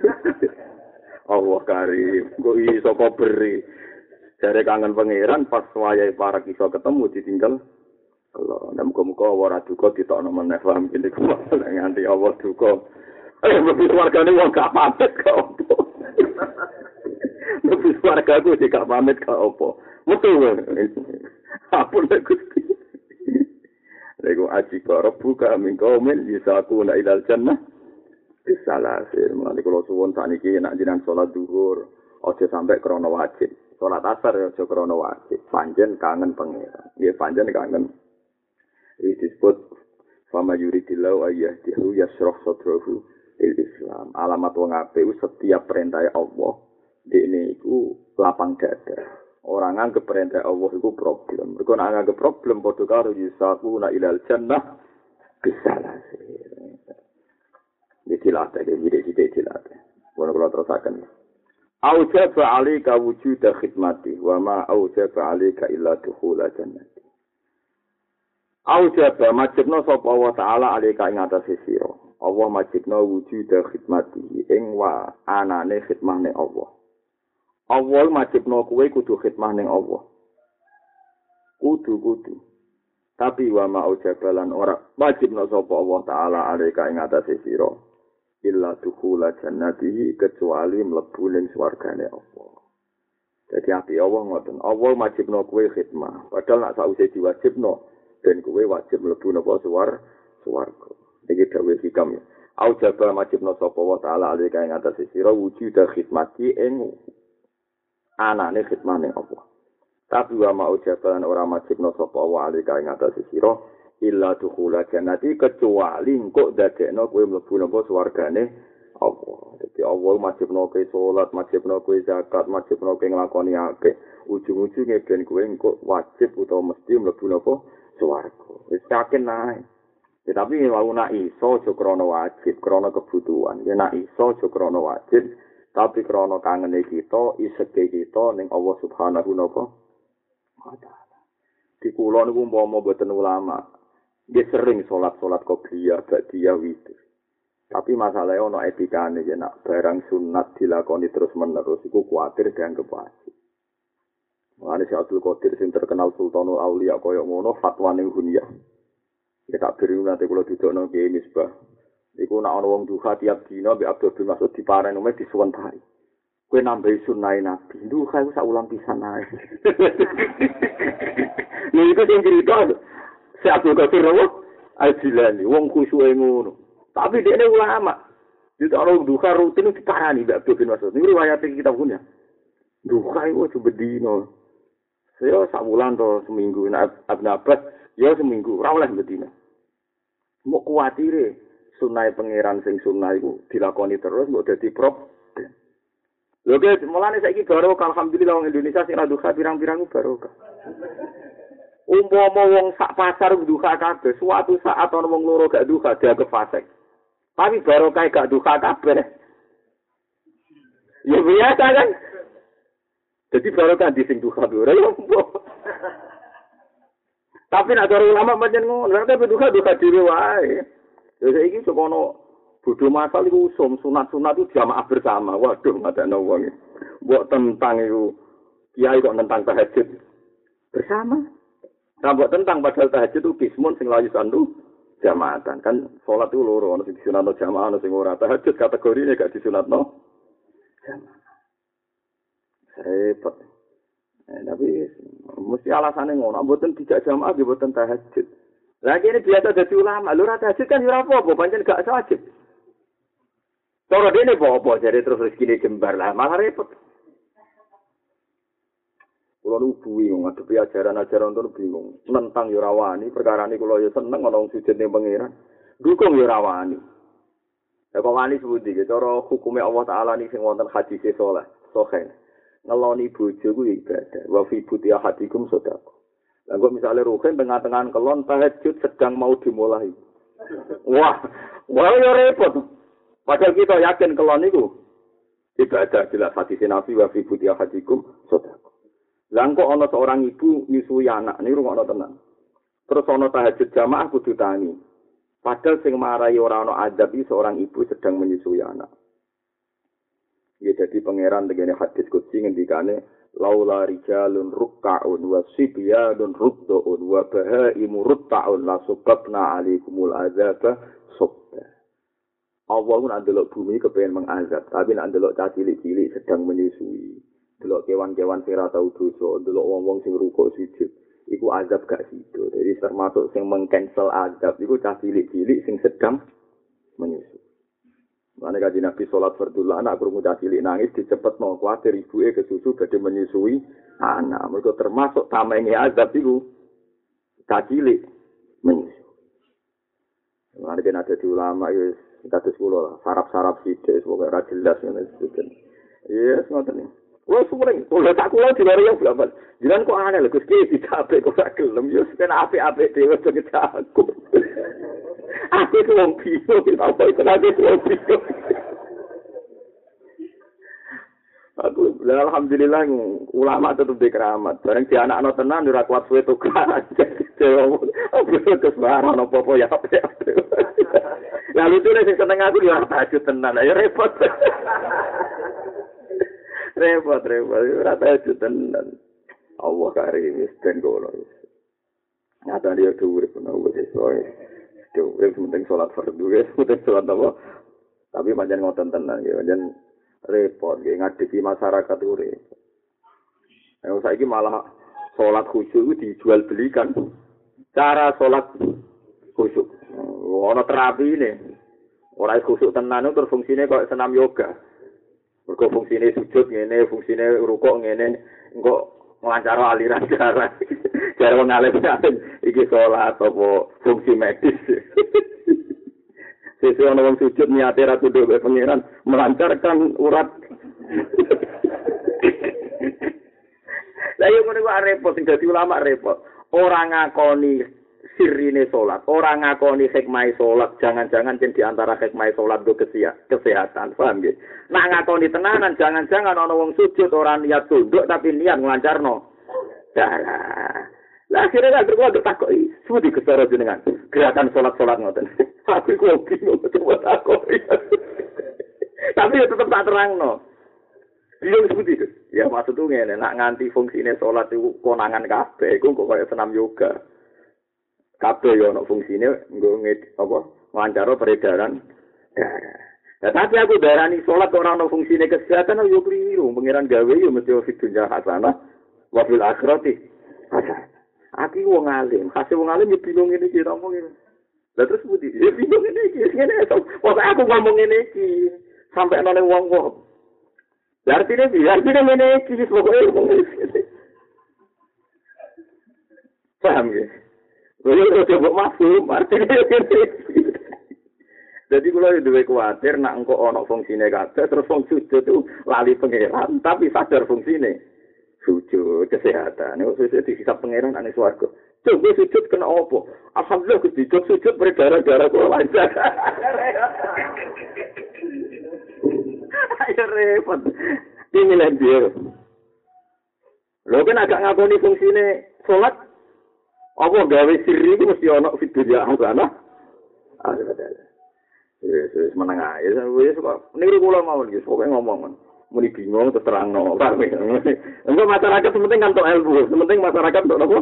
Allah karim, kok iso kok beri. Jare kangen pangeran pas wayahe para iso ketemu ditinggal. Allah, nek muga-muga ora duka ditokno meneh paham iki kok nganti Allah duka. Eh, mesti wargane wong gak pamit kok opo. Mesti wargaku sing gak pamit kok opo. Metu. Apa nek Gusti. Lego aji karo buka mingko men yisaku na ilal jannah. Bisalasir, mulane kula suwun sakniki nek jenengan salat zuhur, aja sampai krana wajib. Salat asar aja krana wajib. Panjen kangen pangeran. Nggih panjen kangen. Ini disebut fama yuridillahu ayyahdihu yashrah sadrahu il Islam. Alamat wong apik setiap perintah Allah dekne iku lapang dada. Orang nganggep perintah Allah iku problem. Mergo nek nganggep problem padha karo yusaquna ilal jannah bisalasir. Ditilate iki ditilate. Wono kula terusaken. Aujaba 'alaika wujuda khidmati wa ma aujaba 'alaika illa dukhula jannati. Aujaba majibna sapa Allah taala alika ing atase sira. Allah majibna wujuda khidmati ing wa anane khidmah ning Allah. Allah majibna kowe kudu khidmah ning Allah. Kudu-kudu. Tapi wa ma aujabalan ora majibna sapa Allah taala alika ing atase sira. Illa dukhula jannatihi kecuali mlebu ning swargane Allah. Jadi ati Allah ngoten. Allah majibna kowe khidmah. Padahal nek sause diwajibno dan kowe wajib mlebu napa suwar swarga. Iki dawuh hikam ya. Aujaba majibna sapa wa taala alika ing atase sira wujuda khidmati ing anane khidmah ning Allah. Tapi wa ma ujaban ora majibna sapa wa alika ing atase sira illa dukhula jannati kecuali engko dadekno kowe mlebu napa swargane Allah. Dadi Allah majibna kowe salat, majibna kowe zakat, majibna kowe nglakoni akeh. Ujung-ujunge ben kowe engko wajib utawa mesti mlebu napa swarga. Wis yakin nae. Tetapi wau nak iso aja krana wajib, krana kebutuhan. Ya nak iso aja krana wajib, tapi krana kangene kita, iseke kita ning Allah Subhanahu wa taala. Di kula niku umpama mboten ulama, Dia sering sholat-sholat qobliyah, ba'diyah, witir. Tapi masalahnya ono etikane ya nak barang sunat dilakoni terus-menerus iku kuwatir dianggap wajib. Mulane Syekh Abdul Qadir sing terkenal Sultanul Auliya kaya ngono fatwane hunyah. Ya tak beri nanti kula didokno Kiai Misbah. Iku nak ana wong duha tiap dina mbek Abdul bin Mas'ud dipareni meh disuwentari. Kowe nambahi sunnahe Nabi. Duha iku sak ulang pisan ae. Niku sing cerita Syekh Abdul Qadir Al-Jilani wong khusyuke ngono. Tapi dia ini ulama. Dia orang duha rutin itu diparani Mbak Abdul bin Mas'ud. Ini riwayat kita punya. Duha itu cuma dino. Saya sak bulan atau seminggu. Nah, Abn Abbas, ya seminggu. Rawlah bedina. Mau kuatire sunai pangeran sing sunai itu dilakoni terus. Mau jadi prop. Oke, mulanya saya ini barokah. Alhamdulillah orang Indonesia sing duha pirang-pirang barokah. Umpama wong sak pasar duha kabeh. Suatu saat ana wong loro gak duha dia kefasek. Tapi baru kayak gak duka kabeh. Ya biasa kan. Jadi baru kan di sing duka ora ya. Tapi nek ada ulama pancen ngono, nek duka duka dhewe wae. Ya saiki sekono bodho masal iku usum sunat-sunat itu jamaah bersama. Waduh ngadakno wong. Mbok tentang iku kiai kok tentang tahajud bersama. Tambah tentang padahal tahajud itu kismun sing layu sandu. Jamaatan kan sholat itu loro ana sing disunatno jamaah ana sing ora tahajud kategorine gak disunatno jamaah repot eh, tapi mesti alasane ngono mboten tidak jamaah nggih mboten tahajud lagi ini biasa dadi ulama lho ora tahajud kan ora apa-apa pancen gak wajib cara dene apa jare terus rezekine jembar lah malah repot. Kulo nu bingung ngadepi ajaran-ajaran itu bingung. Nentang ya ora wani, perkarane kulo ya seneng ana wong sujud ning pangeran. Dukung ya ora wani. Ya kok wani sepundi iki cara hukume Allah taala ning sing wonten hadis saleh, sahih. Ngeloni bojo ku ibadah. Wa fi buti ahadikum sedekah. Lah kok misale ruhen tengah-tengah kelon tahajud sedang mau dimulai. Wah, wah ya repot. Padahal kita yakin kelon niku ibadah jelas hadis Nabi wa fi buti ahadikum sedekah. Langkau ana seorang ibu nyusui anak, ini rungokno tenan. Terus ana tahajud jamaah kudu tangi. Padahal sing marai ora ana adab iki seorang ibu sedang menyusui anak. Ya jadi pangeran tegene hadis qudsi ngendikane laula rijalun rukka'un wa sibyanun ruddu'un wa bahaimu rutta'un la subabna alaikumul azaba subba. Allah ku nak ndelok bumi kepengin mengazab, tapi nak ndelok cah cilik-cilik sedang menyusui. Delok kewan-kewan sing ora tau dosa, delok wong-wong sing rukuk sujud, iku azab gak sido. Jadi termasuk sing mengcancel azab iku cah cilik-cilik sing sedang menyusu. Mane kanjeng Nabi salat fardhu anak krungu cah cilik nangis dicepetno kuwatir ibuke kesusu badhe menyusui anak. Mergo termasuk tamenge azab iku cah cilik menyusu. Mane kan ada di ulama wis kados kula lah, sarap-sarap sithik pokoke ora jelas ngene iki. Yes, ngoten iki. Wah, sumring, kalau tak kulo di luar yang berapa? Jangan kok aneh lho, Gus Ki dicapek kok gak gelem. Yo ben apik-apik dhewe jenenge aku. Aku ku wong bingung, apa iku aku wong bingung. Aku alhamdulillah ulama tetep di keramat. Bareng di anak-anak tenan ora kuat suwe tukaran. Aku terus barang apa-apa ya apik. Lalu itu sing seneng aku yo tahajud tenan. Ya repot. repot repot ora tahajud tenan. Allah karim wis ben kono. Nyata dia dhuwur pun wis soe. Dhuwur penting salat fardhu wis penting salat apa. Tapi pancen ngoten tenan ya pancen repot nggih ngadepi masyarakat urip. Ayo saiki malah salat khusyuk dijual belikan. Cara salat khusyuk. Ono terapine. Ora khusyuk tenan terus fungsine kok senam yoga. Mergo fungsine sujud ngene, fungsine rukuk ngene, engko nglancar aliran darah. Cara wong alim-alim iki salat apa fungsi medis. Sesuai ana wong sujud niate ra tunduk ke pangeran melancarkan urat. Lah yo ngono kok repot sing dadi ulama repot. Ora ngakoni sirine salat, ora ngakoni hikmah salat, jangan-jangan yen di antara hikmah salat do kesehatan, paham nggih? Nak ngakoni tenanan, jangan-jangan ana wong sujud ora niat tunduk tapi niat nglancarno darah. Lah akhirnya kan kula ditakoki, "Sepundi Gusti jenengan? Gerakan salat-salat ngoten." Aku iku bingung coba takoki. Tapi ya tetep tak terangno. Bingung sepundi Gus? Ya maksudku ngene, nak nganti fungsine salat iku konangan kabeh, iku kok kaya senam yoga. Kabeh yo ana fungsine nggo apa? Wawancara peredaran darah. Nah, tapi aku darani salat ora ana fungsine kesehatan yo kliru. Pangeran gawe yo mesti fi dunya hasanah wa fil akhirati hasanah. Aku wong alim, kasih wong alim yo bingung ngene iki ngomong ngene. Lah terus budi, ya bingung ngene iki, ngene to. Wong aku ngomong ngene iki sampai ana wong-wong. Lah artine piye? Artine ngene iki wis pokoke ngomong ngene. Paham ya? Lha kok coba masuk, artine ngene. Jadi kalau itu khawatir nak engkau ono fungsine kabeh terus wong sujud itu lali pangeran tapi sadar fungsine sujud kesehatan. Nek sujud dihisab pangeran ane swarga. Coba sujud kena apa? Alhamdulillah Gusti sujud berdarah-darah kula lancar. Ayo repot. Ini lah dia. Lho kan agak ngakoni fungsine salat apa gawe sirri itu mesti ono fidunya ana. Ada. Wis wis meneng ae. Wis kok niru kula mawon nggih, pokoke ngomong. Muni bingung terus terangno. Engko masyarakat penting kan tok ilmu, penting masyarakat tok apa?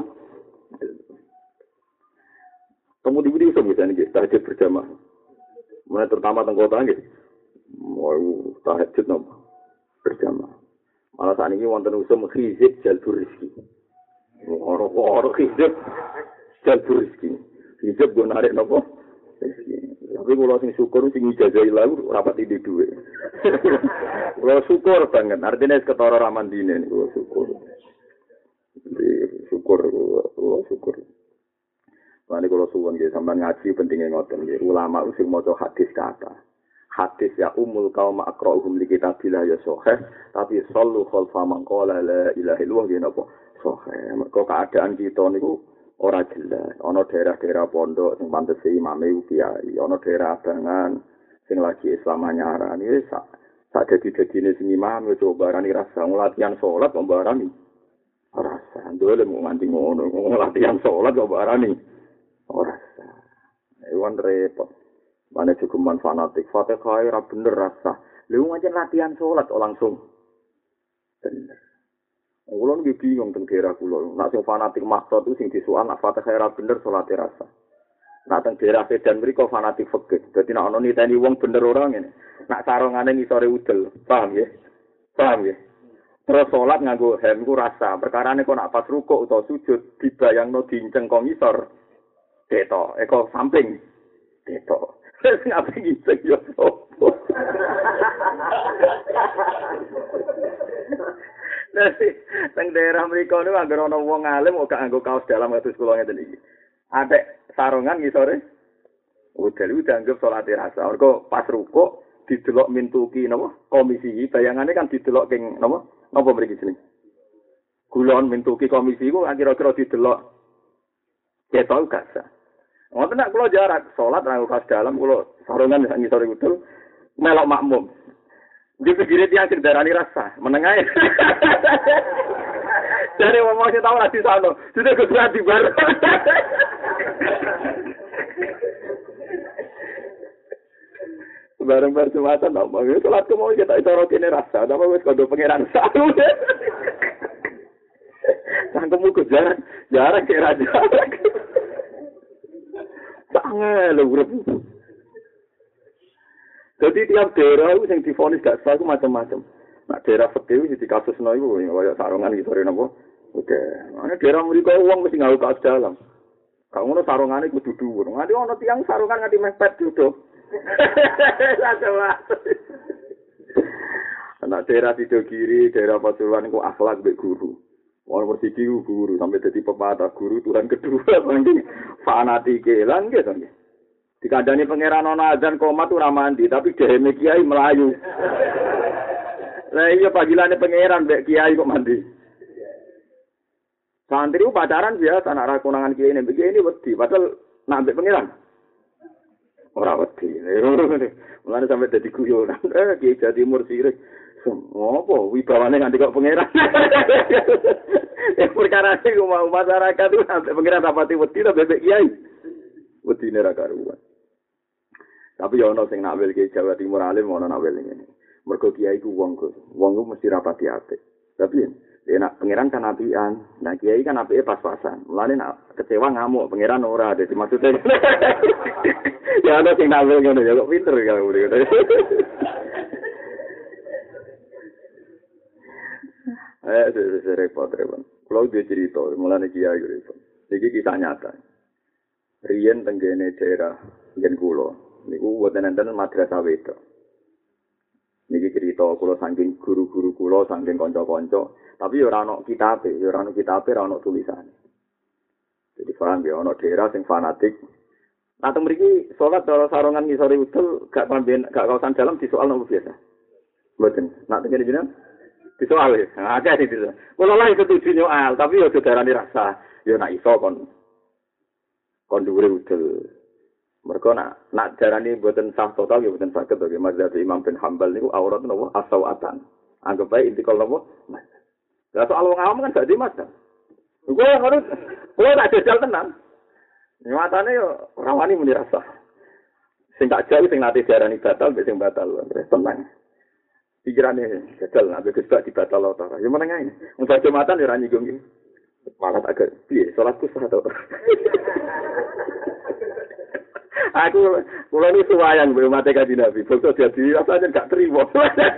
Kamu di video bisa nggih, tahajud berjamaah. Mulai terutama teng kota nggih. Mau tahajud napa? Berjamaah. Malah saat ini wonten usum khizib jalbur rezeki. Ora-ora khizib jalbur rezeki. Khizib go narik napa? Tapi kalau sing syukur sing ijazahi lalu rapat di duwe. Kalau syukur banget, artinya ketara ramandine niku syukur. Jadi syukur, kalau syukur. Mane kalau suwun nggih sampean ngaji pentingnya ngoten nggih. Ulama sing maca hadis kata. Hadis ya umul qaum aqra'uhum li kitabillah ya sahih, tapi sallu khalfa man qala la ilaha illallah nggih napa sahih. Mergo keadaan kita niku ora jelas. Ana daerah-daerah pondok sing pantes imame kiai, ana daerah abangan sing lagi Islam anyarani wis sak sak dadi-dadine sing imam yo barani rasa latihan salat kok barani. Rasa ndole mau nganti ngono, latihan salat kok barani. Ora rasa. Ewan repot. Mane cukup fanatik, Fatihah ora bener rasa. Lha ngajen latihan salat kok langsung bener. Kulo nggih bingung teng daerah kulo. Nek sing fanatik maksud itu sing disuwan nek Fatihah ora bener salate rasa. Nek teng daerah Medan mriko fanatik fikih. Dadi nek ana niteni wong bener ora ngene. Nek sarungane ngisore udel, paham ya? Paham ya? Terus salat nganggo hem ku rasa. Perkarane kok nek pas rukuk utawa sujud dibayangno dinceng kok ngisor. Ketok, eko samping. Ketok. Wis ngapain ngiceng yo opo. Nanti teng daerah mriko niku anggere ana wong alim kok gak nganggo kaos dalam kados kula ngeten iki. Atek sarungan ngisore udel dianggap salat rasa. Mergo pas rukuk didelok mintuki napa komisi bayangane kan didelok king napa napa mriki jeneng. Kulon mintuki komisi iku kira-kira didelok ketok gak sah. Ngoten nek kula jarak salat nganggo kaos dalam kula sarungan ngisore udel melok makmum. Di pinggir tiang sing darani rasa, menengah. Dari ngomong sing tau lagi sana, sudah kesuwen di bar. Bareng-bareng sematan tak mau. Salat ku mau kita cara kene rasa, apa wis kodo pangeran saru. Sangkemu ku jarak, jarak ke raja. Sangat lho urip. Jadi tiap daerah itu yang divonis gak sah itu macam-macam. Nah daerah fikih itu di kasus no itu kayak sarungan gitu hari nopo. Oke, mana daerah mereka uang mesti ngau kaos dalam. Kalau ngono sarungan itu kudu dhuwur. Nganti ono tiang sarungan nganti mepet duduk. Anak daerah Sidogiri, daerah Pasuruan itu akhlak mbek guru. Wong persiki guru sampai dadi pepatah guru Tuhan kedua saking fanatike lan gitu nggih. Dikandani pangeran ana azan komat ora mandi, tapi dhewe kiai melayu. Lah iya pangilane pangeran mbek kiai kok mandi. Santri pacaran biasa anak ra konangan kiai nek kiai ini wedi, padahal nak mbek pangeran. Ora wedi. Mulane sampe dadi guyonan. Eh kiai Jawa Timur sirik. Ngopo wibawane nganti kok pangeran. Ya perkara iki mau masyarakat itu sampai pangeran rapati wedi to bebek kiai. Wedine ra karuan. Tapi ya ono sing nak wel ki Jawa Timur alim ono nak wel ngene. Mergo kiai ku wong ku, wong ku mesti rapati apik. Tapi ya nak pangeran kan apian. Nah kiai kan apike pas-pasan. Mulane nak kecewa ngamuk pangeran ora dadi maksudnya. Ya ono sing nak wel ngono ya kok pinter ya ngono. Eh, saya repot repot. Kalau dia cerita, mulai kiai repot. Ini kisah nyata. Rian tenggene daerah Gen Kulo. Niku buatan enten madrasah wedo. Niki cerita kulo saking guru-guru kulo, saking konco-konco. Tapi ora ono kitabe, ora ono kitabe, ora ono tulisane. Jadi paham ya, ono daerah sing fanatik. Nah, teng mriki salat cara sarongan ngisore udel gak pamben gak kawasan dalam disoal nopo biasa. Mboten. Nak tenggene jenengan disoal ya, agak sih itu. Kalau lah setuju nyoal, tapi ya saudarane rasa, ya nak iso kon, kon dhuwure udel. Mereka nak nak darani buatan sah total, ya buatan sakit. Bagi mazhab Imam bin Hambal niku aurat nopo asawatan. Anggap baik intikal nopo. Lah soal wong awam kan gak di mazhab. Gue harus, gue tak jajal tenan. Nyatane yo rawani muni rasa. Sing tak jauh sing nate darani batal, sing batal tenang. Pikirannya gagal, nabi Gus dibatal Allah. Ya mana ini? Untuk jumatan ya rani gong ini. Malah agak, iya, sholatku sah tau. Aku, kalau ini suwayan belum mati kaji nabi. Bokso jadi rasanya gak terima.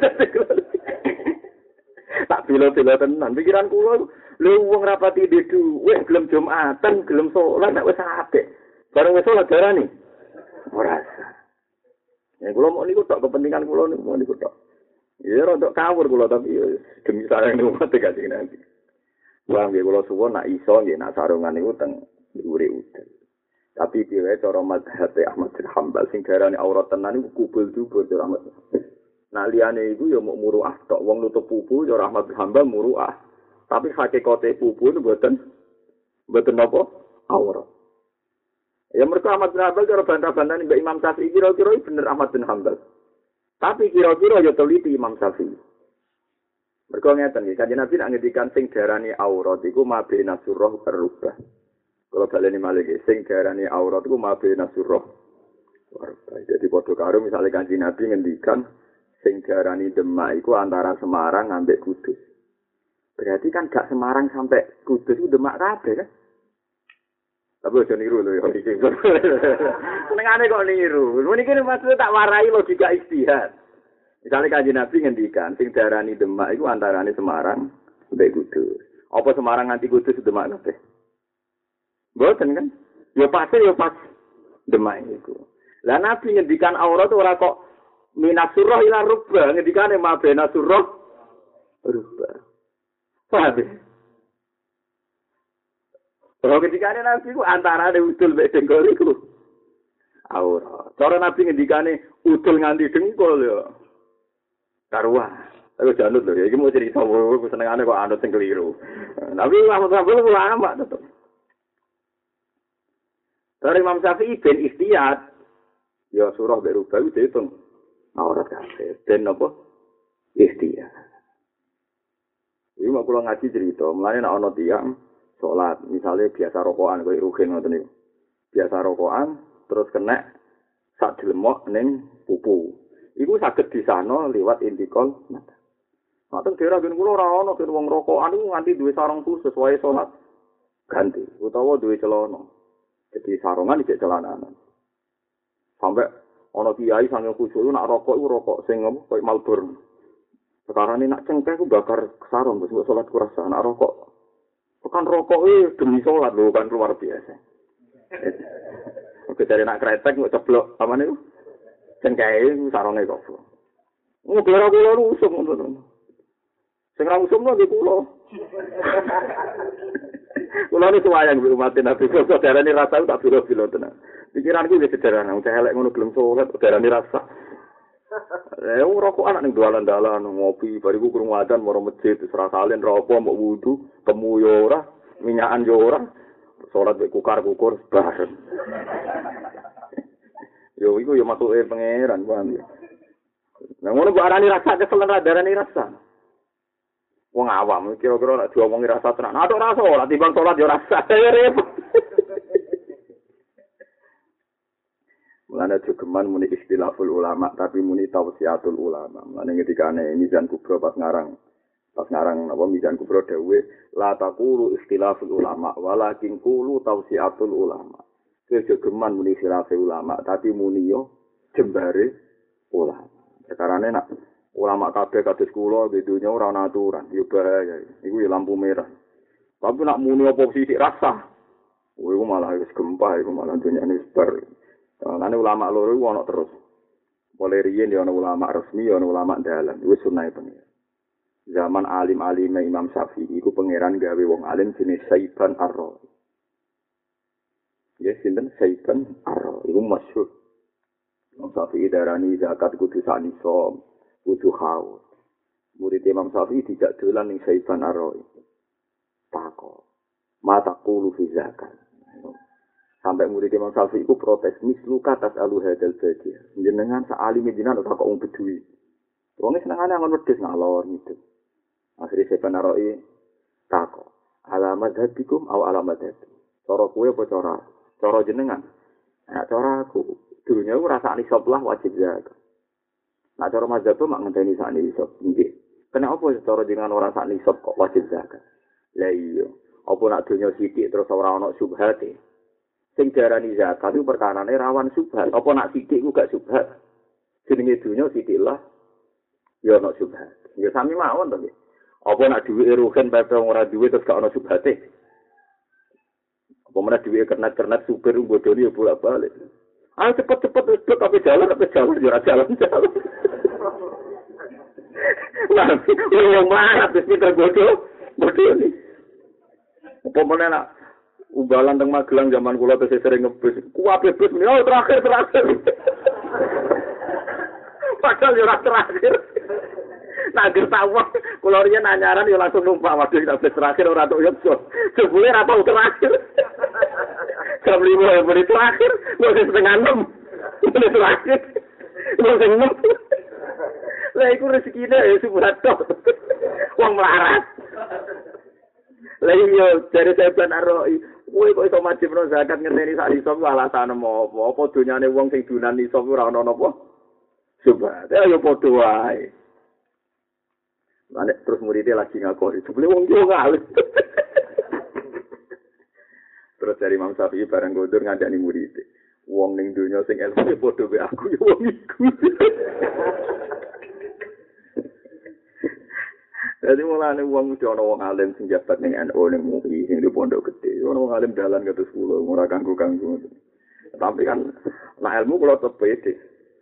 Tak bila-bila tenan. Pikiran kulo, lu uang rapati dedu. Weh, gelem jumatan, gelem sholat, tak wes apik. Barang wes sholat darah nih. Merasa. Ya, kulo mau niku tok kepentingan kulo niku mau niku tok. Ya rodok kawur kula tapi demi sareng umat dikasih nanti. Wong nggih kula suwun nak iso nggih nak sarungan niku teng dhuwure udel. Tapi piye cara mazhab Ahmad bin Hambal sing garane aurat tenan niku kubul dubur cara Ahmad. Nah liyane iku ya muk muruah tok wong nutup pupu cara Ahmad bin Hambal muruah. Tapi hakikate pupu niku mboten mboten napa aurat. Ya mergo Ahmad bin Hambal cara bantah-bantah Mbak Imam Syafi'i kira-kira bener Ahmad bin Hambal. Tapi kira-kira ya teliti Imam Syafi'i. Mergo ngeten nggih, Kanjeng Nabi nak ngendikan sing darani aurat iku mabena surah berubah. Kalau baleni malih sing darani aurat iku mabena surah berubah. Jadi padha karo misale Kanjeng Nabi ngendikan sing darani Demak iku antara Semarang ambek Kudus. Berarti kan gak Semarang sampai Kudus itu Demak kabeh kan? Tapi aja niru lho ya iki. Senengane kok niru. Niki maksud tak warai logika ijtihad. Misalnya Kanjeng Nabi ngendikan sing darani Demak iku antarane Semarang mbek Kudus. Apa Semarang nganti Kudus Demak kabeh? Mboten kan? Ya pasti ya pas Demak iku. Lah Nabi ngendikan aurat ora kok minas surah ila rubba, ngendikane mabena surah rubba. Paham? Kalau ketika ada Nabi ku antara ada udul mek dengkul iku. Aurat. Cara Nabi ngendikane udul nganti dengkul ya. Karuan. Aku janut lho, iki mau cerita aku senengane kok anut sing keliru. Tapi Imam Syafi'i ulama tetep. Dari Imam Syafi'i ben ikhtiyat. Ya surah mek rubah itu dihitung. Aurat kabeh. Ben apa? Ikhtiyat. Iki mau kula ngaji cerita, mulane nek ana tiyang salat, misalnya biasa rokokan koyo rugen ngoten niku. Biasa rokokan terus kena sak delemok ning pupu. Iku saged disano liwat intikal mata. Ngoten daerah gen kula ora ana gen wong rokokan iku nganti duwe sarung khusus wae salat ganti utawa duwe celana. Jadi sarungan iki celananan. Sampai ana kiai sange khusyuk nak rokok iku rokok sing apa koyo Marlboro. Sekarang ini nak cengkeh ku bakar sarung wis salat kurasa nak rokok. Bukan rokok eh demi sholat loh, kan luar biasa. Oke dari nak kretek nggak ceblok apa nih? Cengkai sarongnya kok. Nggak biar aku lalu usum untuk. Sekarang usum lagi pulau. Pulau ini semua yang diumatin Nabi. Saudara ini rasa tak bilo-bilo tenang. Pikiranku udah sederhana. Udah elek ngono belum sholat. Saudara ini rasa. Eh, rokok anak ning dalan-dalan ngopi, bariku krungu adzan maro masjid, serah salin rokok mbok wudu, temu yo ora, minyakan yo ora, salat mek kukar-kukur bareng. Yo iku yo matuke pangeran, paham ya. Nah ngono kok arani rasa kesel ra darani rasa. Wong awam kira-kira nek diomongi rasa tenan. Nah tok rasa ora timbang salat yo rasa. Repot. Mulane jogeman muni istilahul ulama tapi muni tausiatul ulama. Mulane ngendikane Mizan Kubro pas ngarang pas ngarang apa Mizan Kubro dawuh la taqulu istilahul ulama walakin qulu tausiatul ulama. Jogeman muni khilafé ulama tapi muni yo jembare ulama. Sekarane nak ulama kabeh kados kula di dunya ora ana aturan, yo bahaya. Iku ya lampu merah. Tapi nak muni apa sithik rasa. Iku malah wis gempah iku malah dunyane bar. Lan ulama loro iku ana terus. Mulai riyen ya ana ulama resmi, ya ana ulama dalan. Wis sunnahe pengen. Zaman alim-alime Imam Syafi'i iku pangeran gawe wong alim jenis Saiban Ar-Ra'i. Ya sinten Saiban Ar-Ra'i iku masyhur. Imam Syafi'i darani zakat kudu sak nisab, kudu haul. Murid Imam Syafi'i tidak dolan ning Saiban Ar-Ra'i. Takok. Mata qulu fi zakat. Sampai murid Imam Syafi'i itu protes mislu katas alu hadal badia. Jenengan sa'alimi jenengan tak kok wong bedui. Wong senengane angon wedhus ngalor gitu. Akhire Saiban Ar-Ra'i takok. Alamat hadikum aw alamat hadi. Cara kowe apa cara? Cara jenengan. Nah, cara aku dunya ku rasa nisab lah wajib zakat. Nah, cara mazhab mak ngenteni sak nisab. Nggih. Kenapa cara jenengan ora sak nisab kok wajib zakat? Lah iya. Apa nak dunya sithik terus ora ana subhate? Sing diarani zakat itu perkarane rawan subhat. Apa nak sithik ku gak subhat? Jenenge dunya sithik lah ya ana subhat. Ya sami mawon to. Apa nak duwe ruhen pepe ora duwe terus gak ana subhate? Apa meneh duwe kernet-kernet supir bodoni ya bolak-balik. Ayo cepet-cepet wis tapi jalan tapi jalan ya ora jalan-jalan. Lah, wong mlarat wis pinter bodoh, bodoni. Apa meneh nak umbalan teng Magelang zaman kula tesih sering ngebus. Kuwabe bus meni oh terakhir terakhir. Padahal yo ora terakhir. Nak gertawah kula riyen anyaran yo langsung numpak waduh kita bus terakhir ora tok yo. Jebule ora tau terakhir. Jam lima ya beri terakhir, wis setengah enam. Beri terakhir. Wis enam. Lah iku rezekine ya subhat tok. Wong melarat. Lah iya dari Saiban Ar-Ra'i kowe kok iso wajibno zakat ngerteni sak nisab alasane apa? Apa donyane wong sing dunan nisab ora ana napa? Subhat. Ya yo padha wae. Lah terus muridé lagi ngakoni, sebule wong yo ngalih. Terus dari Imam Syafi'i bareng gondur ngandani muridé. Wong ning donya sing ilmu padha wae aku yo wong iku. Jadi mulane wong mesti ana wong alim sing jabat ning N U ning U I sing di pondok gede. Ana wong alim dalan kados kula ora kanggo-kanggo. Tapi kan nek ilmu kula tetep pede.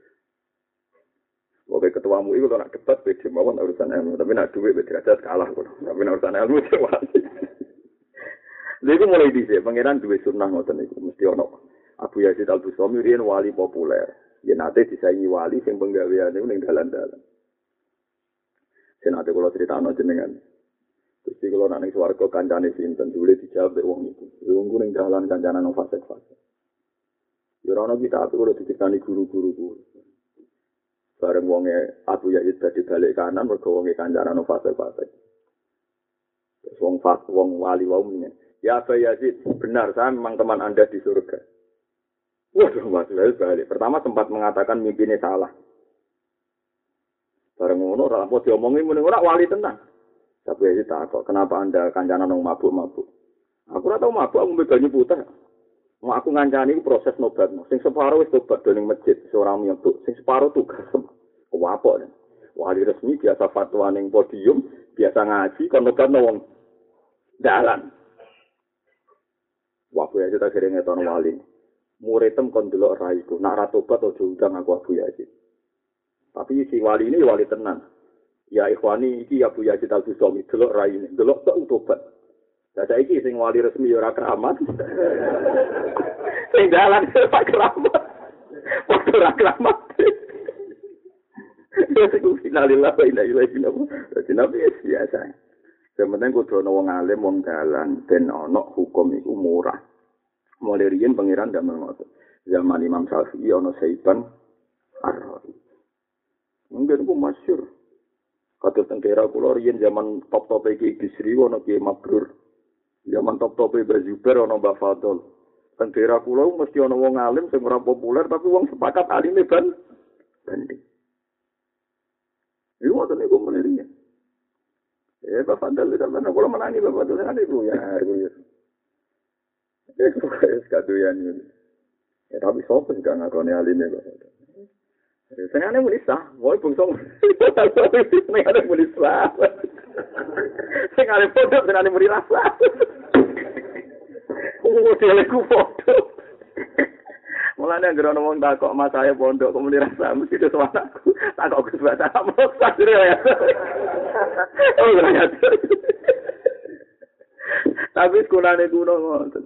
Oke ketua M U I kula nak debat pede mawon urusan ilmu, tapi nak duit derajat kalah kula. Tapi nak urusan ilmu cewek. Lha mulai dhisik pangeran duwe sunah ngoten niku mesti ana. Abu Yazid Al-Bustami riyen wali populer. Yen nate disaingi wali sing penggaweane ning dalan-dalan. Senate kula critakno jenengan. Gusti kula nak ning swarga kancane sinten dule dijawab mek wong iku. Wong ku ning dalan kancane nang fase-fase. Ya ora ono kita aku kula dicekani guru-guru ku. Bareng wonge Abu Yazid dadi balik kanan mergo wonge kancane nang fase-fase. Terus wong fas wong wali wau menyen. Ya Abu Yazid, benar saya memang teman Anda di surga. Waduh, Mas balik. Pertama sempat mengatakan mimpinya salah. Bareng ngono ora apa diomongi muni ora wali tenan. Tapi ya tak kok kenapa Anda kancana nang mabuk-mabuk. Aku ora tau mabuk aku mbek banyu putih. Mau aku ngancani proses nobat. Sing separo wis tobat do ning masjid, ora nyebut. Sing separo tugas. Kuwapok. Wali resmi biasa fatwa ning podium, biasa ngaji kon nobat wong dalan. Wabu Yazid akhirnya ngetono wali. Muridem kon delok raiku. Nak ra tobat aja undang aku Abu Yazid. Tapi si wali ini wali tenan. Ya ikhwani iki Abu Yazid Al-Bustami delok raine, delok tok tobat. Lah saiki sing wali resmi ya ora keramat. Sing dalan Pak keramat. Padha ora keramat. Ya iku finalillah wa ila ilaihi nabi. Nabi biasa. Sementing kudu ana wong alim wong dalan ben ana hukum iku murah. Mulai riyen pangeran ndak ngoten. Zaman Imam Syafi'i ana Saiban Ar-Ra'i. Mungkin ku masyhur. Kados teng daerah kula riyen zaman top-tope Ki Bisri ana Ki Mabrur. Zaman top-tope Mbah Zubair ana Mbah Fadl. Teng daerah kula mesti ana wong alim sing ora populer tapi wong sepakat alime ban banding. Iku ngoten niku menirinya. Eh Mbah Fadl sampeyan kula menangi Mbah Fadl kan iku ya. Eh kok kadoyan ini. Ya tapi sopo sing gak ngakoni alime kok. Senengane muni sah, wae bungsong. Senengane muni sah. Senengane foto, senengane muni rasa. Oh, teleku foto. Mulane anggere ana wong takok Mas saya pondok kok muni rasa mesti itu anakku. Takok Gus Baca moksa ya. Oh, ya. Tapi sekolahane kuno ngoten.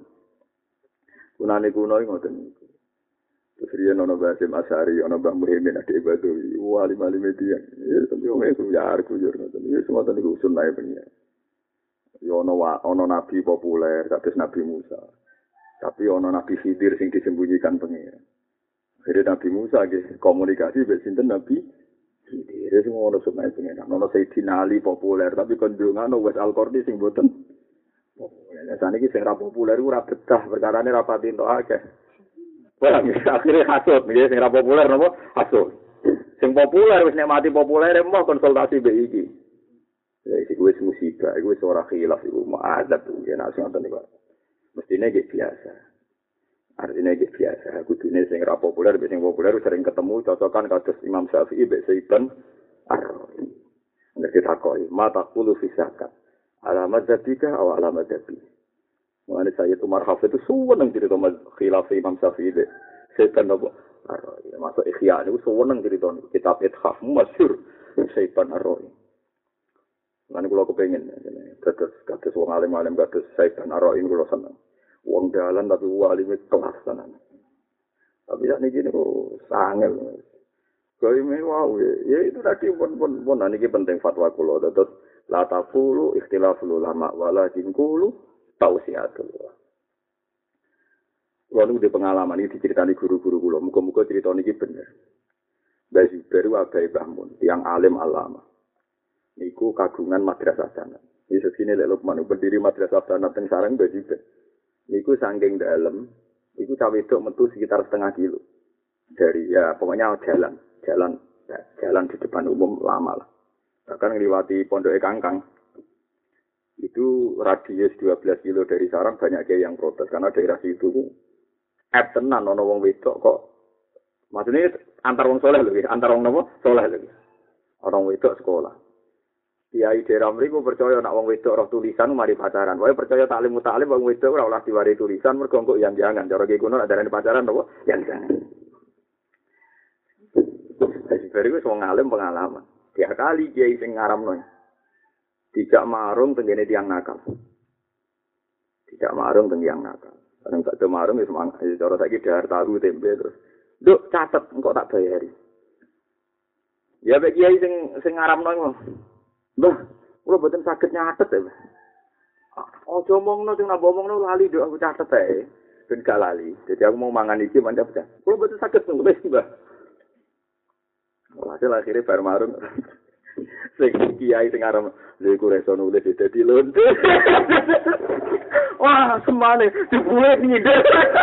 Kunane kuno ngoten niku. Terus riyen ana Mbah Hasyim Asy'ari, ana Mbah Muhyiddin Adik Badawi, wali-wali media. Ya tapi wong itu ya arep yo ngoten. Ya semoten niku sunnahe pengen. Yo ana ana nabi populer kados Nabi Musa. Tapi ana Nabi Khidir sing disembunyikan pengen. Akhirnya Nabi Musa nggih komunikasi mbek sinten Nabi Khidir sing ngono sunnahe pengen. Ana Sayyidina Ali populer tapi kondungan wis Al-Qarni sing boten populer. Saniki sing ra populer ora betah perkarane ra pati entuk akeh. Wah, akhirnya hasut, nggih sing ra populer napa? Hasut. Sing populer wis nek mati populer emoh konsultasi mbek iki. Ya iki wis musibah, iku wis ora khilaf iku ma'adzab nggih nek sing ngoten niku. Mestine nggih biasa. Artinya nggih biasa, kudune sing ra populer mbek sing populer sering ketemu cocokan kados Imam Syafi'i mbek Saiban Ar-Razi. Nek ditakoki, "Mata qulu fi zakat?" Alamat zabika atau alamat zabi. Mengenai saya itu Umar Hafid itu suweneng cerita khilaf Imam Syafi'i deh. Setan apa? Ar-Razi. Masuk Ikhya itu suweneng cerita kitab Ithaf masyhur Setan Ar-Razi. Lan kula kepengin kados kados wong alim-alim kados Setan Ar-Razi kula seneng. Wong dalan tapi walime kelas tenan. Tapi sak niki niku sangel. Kaya wow ya itu tadi pun pun pun niki penting fatwa kula terus la taqulu ikhtilaful ulama walakin qulu tausiatullah. Lalu di pengalaman ini diceritani guru-guru kula, muga-muga cerita niki bener. Mbah Zubair wae Bahmun, tiang alim alama. Niku kagungan madrasah sanad. Iki sesine lek Lukman berdiri madrasah sanad teng sarang Mbah Zubair. Niku saking dalem, iku cah wedok metu sekitar setengah kilo. Dari ya pokoknya jalan, jalan ya, jalan di depan umum lama lah. Bahkan ngliwati pondoke Kangkang. Itu radius dua belas kilo dari sarang banyak kiai yang protes karena daerah situ ep tenan ana wong wedok kok maksudnya antar wong soleh lho antar wong napa soleh lho orang wedok sekolah kiai daerah mriku percaya nek wong wedok roh tulisan mari pacaran wae percaya taklim taklim wong wedok ora oleh diwari tulisan mergo engko yang jangan cara kiai kuno adarane pacaran napa yang jangan wis bariku wong alim pengalaman tiap kali kiai sing ngaramno tidak marung tenggene tiang nakal. Tidak marung teng tiang nakal. Kadang tak marung wis mang cara saiki dahar tahu tempe terus. Nduk catet engko tak bayari. Ya bek kiai sing sing ngaramno iku. Mbah, kula mboten saged nyatet ya. Aja omongno sing nambah omongno lali nduk aku catet ae. Ben gak lali. Jadi aku mau mangan iki mandap pecah. Kula mboten saged nulis, Mbah. Hasil akhirnya bar marung. Sing kiai sing aran lha iku reso nulis dadi lonte. Wah, semane dibuat ngide.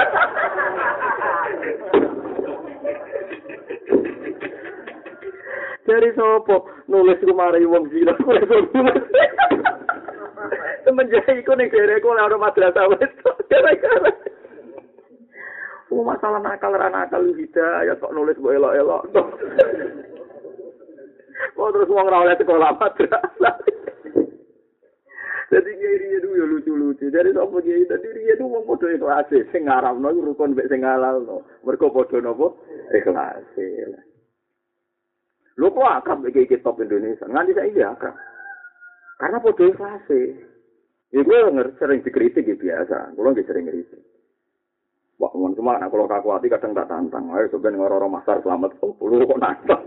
Dari sopo nulis ku mari wong gila reso nulis. Semenjak iku ning dereku ora madrasah wis gara-gara. Oh, masalah nakal ra nakal hidayah kok nulis mbok elok-elok. Oh terus wong ora oleh sekolah madrasah. Jadi kiai itu ya lucu-lucu. Jadi sapa kiai dadi riyen wong padha ikhlas sing ngaramno iku rukun mek sing halalno. Mergo padha napa ikhlas. Lho kok akab iki top Indonesia. Nganti saiki akab. Karena padha ikhlas. Iku sering dikritik ya biasa. Kulo nggih sering ngritik. Wah, mun cuma nek kula kakuati kadang tak tantang. Ayo sampeyan ngoro-oro masar selamat sepuluh kok nantang.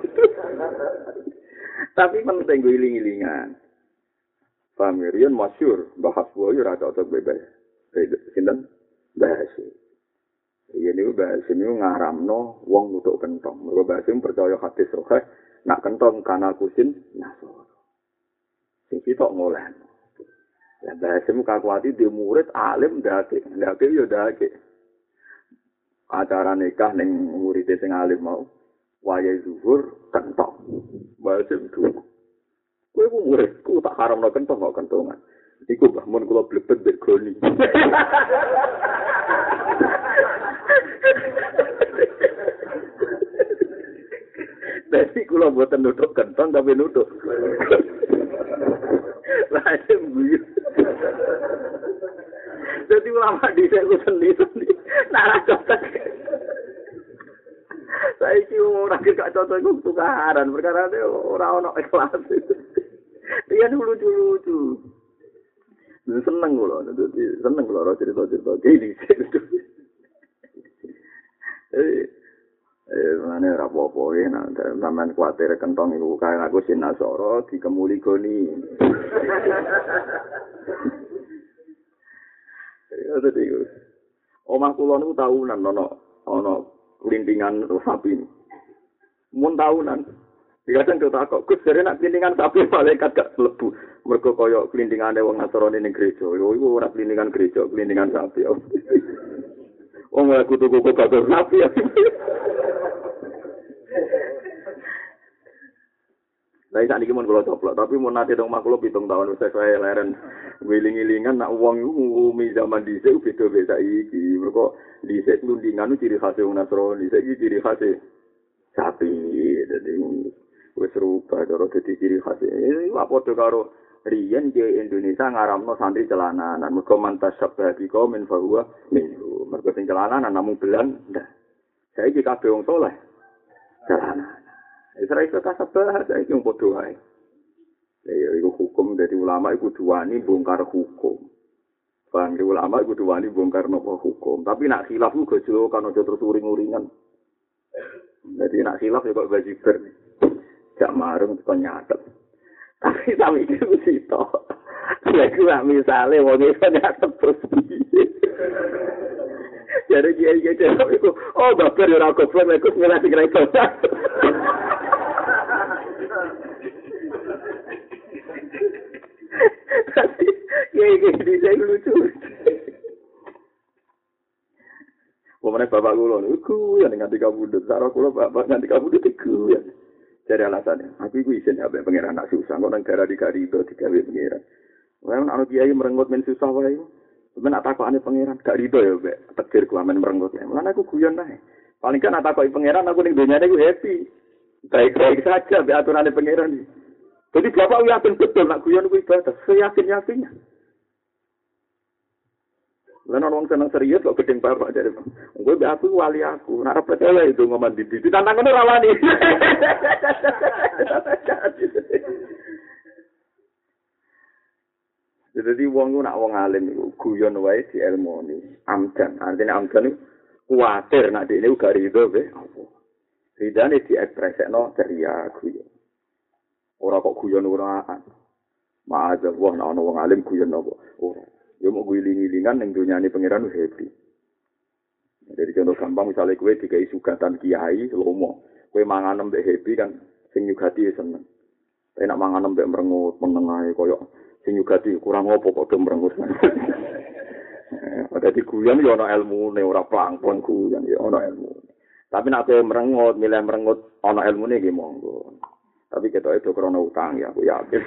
Tapi penting gue iling-ilingan. Pamirian masyhur bahas boyo ora cocok bebas. Sinten? Bahas. Iya niku bahas niku ngaramno wong nutuk kentong. Mergo bahas percaya hadis sahih Nak kentong kana kusin nasoro. Sing sitok ngoleh. Ya bahasemu kakuati di murid alim ndake, ndake yo ndake. Acara nikah ning murid sing alim mau wayahe zuhur kentong. Bahasem itu. Kowe ku murid, ku tak haramno kentong kok kentongan. Iku bahmun kula blebet mbek goni. Dadi kula mboten nutuk kentong tapi nutuk. Lahir guyu. Jadi ulama dhisik ku sendiri. Nara cocok. Saiki ora gak cocok ku tukaran perkara ora ono ikhlas. Dia lucu-lucu. Seneng kula, dadi seneng kula cerita-cerita iki dhisik. Eh Eh, mana rapopo ya, nah, sampean kuatir kentong iku kaya aku sinasoro dikemuli goni. Ya tadi iku. Omah kula niku tahunan ana ana kelintingan sapi. Mun tahunan. Dikatakan kita kok Gus jare nek kelintingan sapi malaikat gak mlebu. Mergo kaya kelintingane wong Nasrani ning gereja. Yo iku ora kelintingan gereja, kelintingan sapi. Wong aku tuku kok gak sapi. Lah sak niki mun kula coplok, tapi mun nate dong mak kula pitung tahun wis saya leren wiling-wilingan nak wong iku ngumi zaman dhisik beda beda iki. Mergo dhisik lundingan ciri khas wong Nasrani, iki ciri khas sapi. Dadi wis rupa karo dadi ciri khas. Iki padha karo riyen di Indonesia ngaramno santri celananan. Mergo mantas sabbi kaum min fahuwa minhu. Mergo sing celananan namung belan. Saiki kabeh wong saleh celananan. Israel itu kasabah, saya itu yang bodoh aja. Ya, itu hukum dari ulama itu duani bongkar hukum. Bang, di ulama itu duani bongkar nopo hukum. Tapi nak khilaf juga jauh kan aja terus uring-uringan. Jadi nak khilaf ya kok bajiber. Gak marung kok nyatet. Tapi tapi itu sih toh. Ya gue misalnya wong itu nyatet terus. Jadi dia dia itu, oh baper ya aku pun aku sembilan tiga itu. Tapi ya ini saya lucu. Pemane bapak kula niku ya nganti kabudut, karo kula bapak nganti kabudut iku ya. Dari alasannya, aku iku isin ambek pangeran nak susah, kok nang gara dikari itu digawe pangeran. Wah ana kiai merengut men susah wae. Men tak takokane pangeran, gak rido ya mbek takdir ku amen merengut. Lan aku guyon ae. Paling kan tak takoki pangeran aku ning dunyane iku happy. Baik-baik saja mbek aturane pangeran. Jadi bapak yakin betul nak guyon ku ibadah, seyakin-yakinnya. Lan orang seneng serius kok gedeng bapak dari. Gue mbek aku wali aku, nek percaya itu ngomong di di tantangane ora wani. Jadi wong ku nak wong alim iku guyon wae di ilmoni. Amdan, artine amdan iku kuwatir nek dene uga rido be apa. Ridane diekspresekno dari ya guyon. Ora kok guyon uraan. Ma'adzah wah nek ana wong alim guyon apa? Ora. Ya mau guling-gilingan ning dunyane pangeran happy. Jadi contoh gampang misalnya kowe dikai sugatan kiai lomo. Kowe mangan mbek happy kan sing nyugati seneng. Tapi nak mangan mbek merengut meneng ae koyo sing nyugati kurang opo kok do merengut. Ada di guyon ya ana ilmune ora plangpon guyon ya ana ilmune. Tapi nek kowe merengut milih merengut ana ilmune nggih monggo. Tapi ketok itu krana utang ya aku yakin.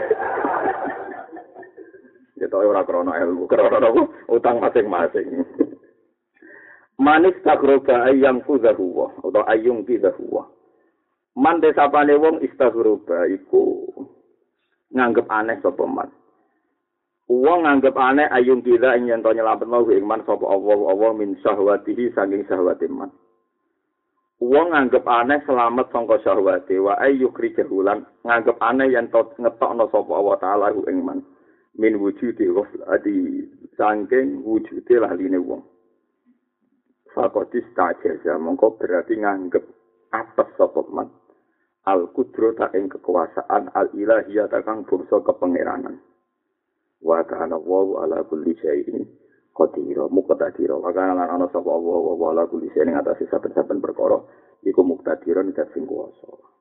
Ketok ora krana ilmu, krana utang masing-masing. Manis tagroba ayang kuzahuwa atau ayung kizahuwa. Man desapane wong istaghroba iku nganggep aneh sapa man. Wong nganggep aneh ayung kiza ing yen to nyelametno ing man sapa Allah Allah min syahwatihi saking syahwate man. Wong nganggep aneh selamat sangka syahwate wa ayyukri jahulan nganggep aneh yen to ngetokno sapa Allah taala ing man. Min wujudi ghaflati saking wujude laline wong. Fakotis tajaza mongko berarti nganggep atas sapa man. Al-Qudrata ing kekuasaan al-ilahiyata kang bangsa kepangeranan. Wa kana wa ala kulli syai'in qadir. Muqtadir. Wa kana lan ana sapa wa wa ala kulli syai'in ing atase saben-saben perkara iku muqtadiron dat sing kuwasa.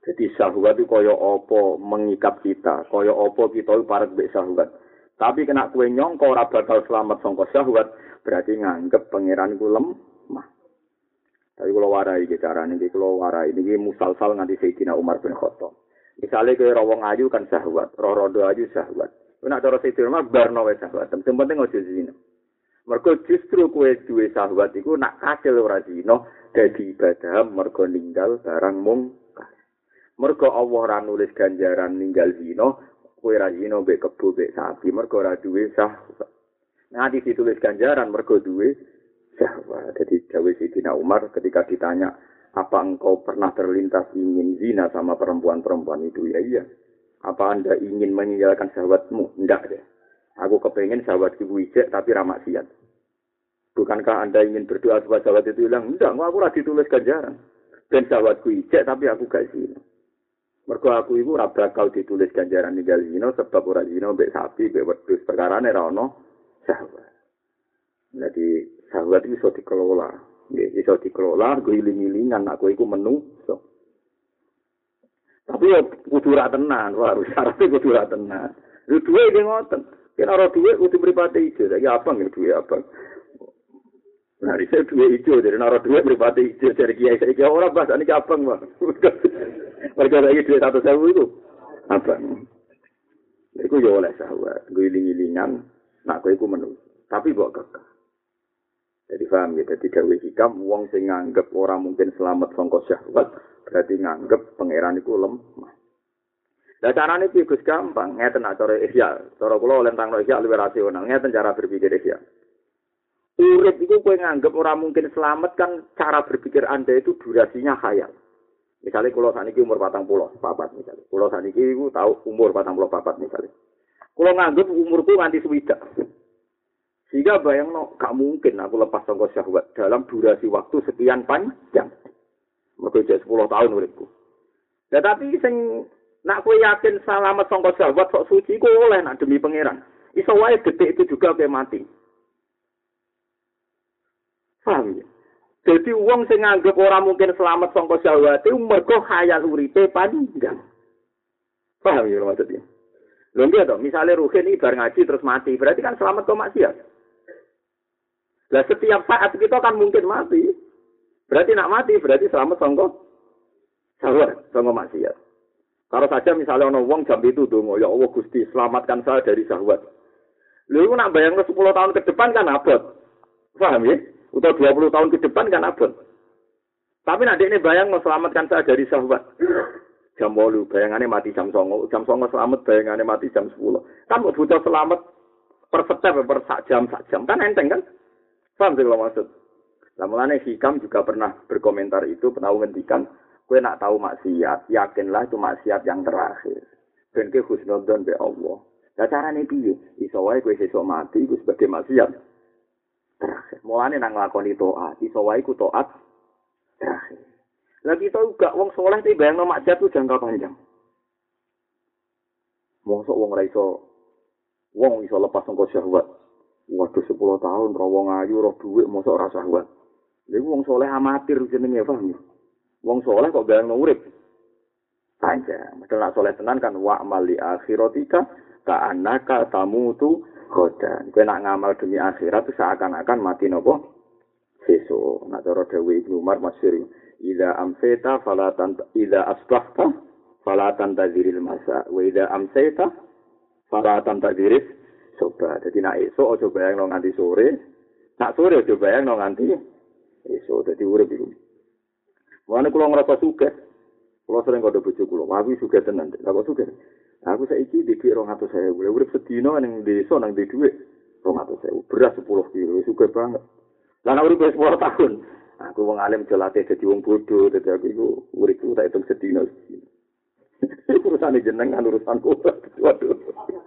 Jadi syahwat itu kaya apa mengikat kita, kaya apa kita parek mbek syahwat. Tapi kena kue nyongko ora bakal selamat sangka syahwat, berarti nganggep pangeran ku lemah. Tapi kalau warai iki carane iki kalau warai niki musalsal nganti Sayyidina Umar bin Khattab. Misale kowe rawong ayu kan syahwat, rodo ayu syahwat. Nek cara Sayyidina Umar barno wae syahwat. Sing penting aja zina. Mergo justru kowe duwe syahwat iku nak kasil ora zina dadi ibadah mergo ninggal barang mungkar. Mergo Allah ora nulis ganjaran ninggal zina, kowe ra zina mbek kebo mbek sapi mergo ora duwe syahwat. Nanti ditulis ganjaran mergo duwe syahwat. Jadi dawuh Sayyidina Umar ketika ditanya, "Apa engkau pernah terlintas ingin zina sama perempuan-perempuan itu?" Ya iya. "Apa Anda ingin meninggalkan syahwatmu?" Enggak deh. Aku kepengen syahwat ibu ijek tapi ra maksiat. Bukankah Anda ingin berdoa supaya syahwat itu hilang? Enggak, aku ora ditulis ganjaran. Dan syahwatku ijek tapi aku gak zina. Mergo aku iku ora bakal ditulis ganjaran ninggal zina sebab ora zina mbek sapi, mbek wedhus, perkarane ra ono syahwat. Jadi syahwat itu iso dikelola. Nggih, iso dikelola guling-gilingan nek kowe iku menungso. Tapi ya kudu ra tenan, harus syaratnya kudu ra tenan. Lu duwe iki ngoten. Yen ora duwe kudu mripate ijo. Ya apa nggih duwe apa? Nah, riset duwe ijo dari ora duwe mripate ijo dari kiai saiki ora bahasane abang, Bang. Mergo lagi duwe satu sewu itu. Apa? Iku yo oleh syahwat, guling-gilingan nak kowe iku menungso. Tapi mbok kekeh. Jadi paham ya, jadi gawe hikam, wong sing nganggep ora mungkin selamat sangka syahwat, berarti nganggep pangeran iku lemah. Lah carane iki Gus gampang, ngeten nak cara ihya. Cara kula oleh tangno ihya luwih rasional, ngeten cara berpikir ihya. Urip iku kowe nganggep ora mungkin selamat kan cara berpikir Anda itu durasinya khayal. Misalnya kula saniki umur patang puluh papat misalnya. Kula saniki iku tau umur patang puluh papat misalnya. Kula nganggep umurku nganti swidak. Sehingga bayangno gak mungkin aku lepas sangka syahwat dalam durasi waktu sekian panjang. Mergo jek sepuluh tahun uripku. Tetapi sing nak kowe yakin selamat sangka syahwat sok suci ku oleh nak demi pangeran. Iso wae detik itu juga kowe mati. Paham ya? Jadi wong sing nganggep ora mungkin selamat sangka syahwat itu mergo khayal uripe panjang. Paham ya maksudnya? Lho nggih to, misale Ruhin iki bar ngaji terus mati, berarti kan selamat kok maksiat. Lah setiap saat kita kan mungkin mati. Berarti nak mati berarti selamat sangka syahwat, sangka maksiat. Kalau saja misalnya ana wong jam itu donga, ya Allah Gusti, selamatkan saya dari syahwat. Lha iku nak bayangno sepuluh tahun ke depan kan abot. Paham ya? Atau dua puluh tahun ke depan kan abot. Tapi nak dekne bayangno selamatkan saya dari syahwat. Jam delapan, bayangannya mati jam sembilan. Jam sembilan selamat, bayangannya mati jam sepuluh. Kan butuh selamat per step, per sak jam, sak jam. Kan enteng kan? Paham sih kalau maksud? Nah, mulanya Hikam juga pernah berkomentar itu, pernah menghentikan. Kue nak tahu maksiat, yakinlah itu maksiat yang terakhir. Dan ke husnudon be Allah. Nah, caranya piye? Iso wae kue sesuk mati, itu sebagai maksiat terakhir. Mulanya nang nglakoni taat, iso wae ku taat terakhir. Lah kita juga wong soleh iki bayangno maksiat itu jangka panjang. Mosok wong ora iso wong iso lepas sangka syahwat. Waduh sepuluh tahun ora wong ayu ora dhuwit mosok ora syahwat. Lha iku wong soleh amatir jenenge paham ya. Wong soleh kok bayangno urip. Panjang. Padahal nak soleh tenan kan wa amali akhiratika ka annaka tamutu khodan. Kowe nak ngamal demi akhirat itu seakan-akan mati napa? Sesuk. Nak cara dawuh Ibnu Umar masyhur. Ida amseta falatan ida asbahta falatan tadziril masa wa ida amseta falatan tadziris soba. Jadi nak esok aja bayangno nganti sore, nak sore aja bayangno nganti esok. Dadi urip iku. Wane kula ngrasa sugih. Kula sering kandha bojo kula, "Aku sugih tenan." Lah kok sugih? Aku saiki di dhuwit dua ratus ribu. Urip sedina ning desa nang di dhuwit dua ratus ribu. Beras sepuluh kilo, sugih banget. Lah nek urip sepuluh tahun, aku wong alim jelate dadi wong bodoh, dadi aku iku uripku tak hitung sedina. Urusane jenengan urusanku. Waduh.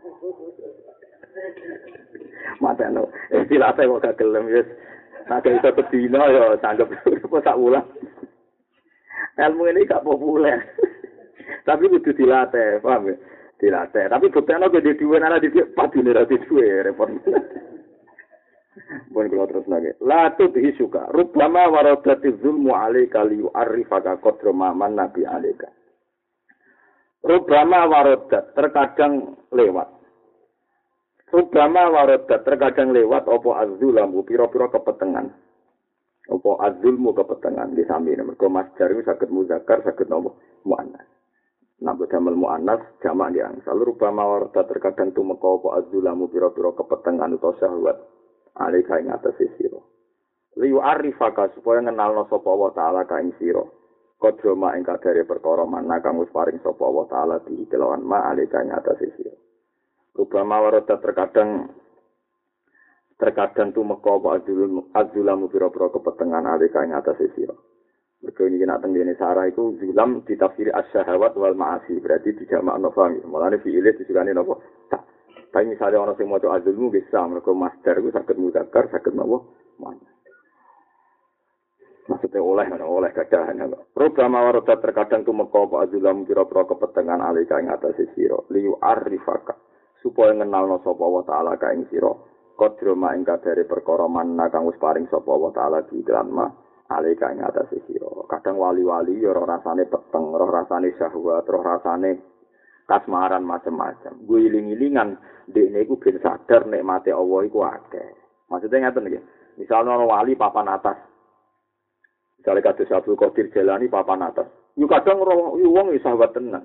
Mateno, istilah saya kok gak gelem wis. Nek iso sedina ya tanggep apa sak wulan. Ilmu ini gak populer. Tapi kudu dilatih, paham ya? Dilatih. Tapi buktinya kalau di dua nara di padune ra di dua repot. Bon kula terus lagi. La tudhi suka. Rubbama waradati zulmu alaika li yu'arrifaka qadra ma man nabi alaika. Rubama warodat terkadang lewat. Rubama warodat terkadang lewat opo azzulamu piro-piro kepetengan. Opo azzulmu kepetengan di samping. Mergo masdar itu saged muzakkar, saged nopo muannas. Nabi damel muannas jamak di angsal. Rubama warodat terkadang tumeka opo azzulamu piro-piro kepetengan utawa syahwat. Alika ing atase sira. Liyu arifaka supaya ngenalno sapa wa taala ka ing sira. Kodroma ing kadare perkara mana kang wis paring sapa wa taala di kelawan ma alika ing atase sira. Rubama warada terkadang terkadang tumeka apa azulum azulamu pira-pira kepetengan alika ing atase sira. Mergo iki nek tengene sarah iku zulam ditafsiri as-syahawat wal ma'asi berarti dijamakno fahmi. Mulane fi'ile disukani napa? Tapi misalnya ana sing maca azulmu bisa mergo masdar iku saged muzakkar saged napa? Muannas. Maksudnya oleh mana oleh kadahan. Rubama warada terkadang tumeka apa azulam pira-pira kepetengan alika ing atase sira liyu arifaka supaya ngenalno sapa wa taala ka ing sira kodroma ing kadare perkara manna kang wis paring sapa wa taala di dalam ma alika ing atase sira. Kadang wali-wali ya ora rasane peteng, ora rasane syahwat, ora rasane kasmaran macam-macam. Gue iling-ilingan dekne iku ben sadar nikmate Allah iku akeh. Maksudnya ngaten iki. Misalnya ana wali papan atas misalnya kados Abdul Qadir Jalani papan atas. Yo kadang wong wis sahabat tenan.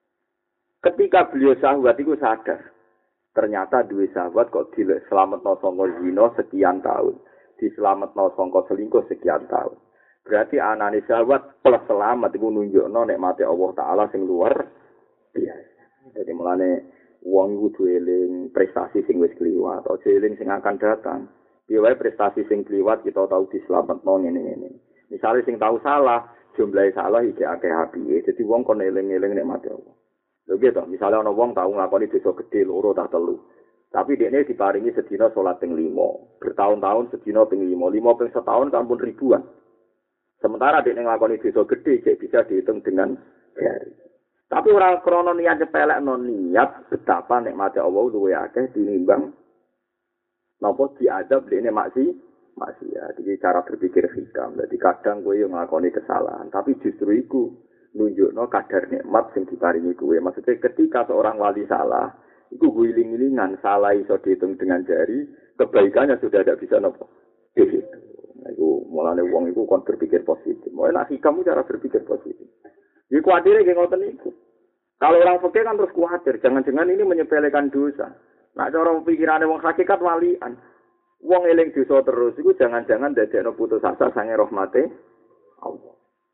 Ketika beliau sahabat itu sadar, ternyata duwe sahabat kok diselametno saka zina sekian tahun, diselametno saka selingkuh sekian tahun. Berarti anane sahabat plus selamat iku nunjukno nikmate Allah taala sing luar biasa. Jadi mulane wong kudu eling prestasi sing wis kliwat, aja eling sing akan datang. Piye wae prestasi sing kliwat kita tahu diselametno ngene-ngene. Misalnya sing tahu salah, jumlahe salah iki akeh apike. Jadi wong kon eling-eling nikmate Allah. Lho gitu, misalnya ana wong tau nglakoni dosa gedhe loro ta telu. Tapi dekne diparingi sedina salat ping lima, bertahun-tahun sedina ping lima, lima ping setahun kampun ribuan. Sementara dekne nglakoni dosa gedhe cek bisa dihitung dengan hari. Tapi ora krana niat nyepelekno niat betapa nikmate Allah luwih akeh tinimbang napa diadab dekne maksi maksiat. Jadi cara berpikir hikam. Jadi kadang kowe yo nglakoni kesalahan, tapi justru iku nunjukno kadar nikmat sing diparingi kowe. Maksudnya ketika seorang wali salah, iku guling-gilingan salah iso dihitung dengan jari, kebaikannya sudah tidak bisa nopo. Gitu. Nah, iku mulane wong iku kon berpikir positif. Mau nek hikam cara berpikir positif. Iki kuatire nggih ngoten niku. Kalau orang fikih kan terus kuatir, jangan-jangan ini menyepelekan dosa. Nah, cara pikirane wong hakikat walian. Wong eling dosa terus iku jangan-jangan dadekno putus asa sange rahmate Allah.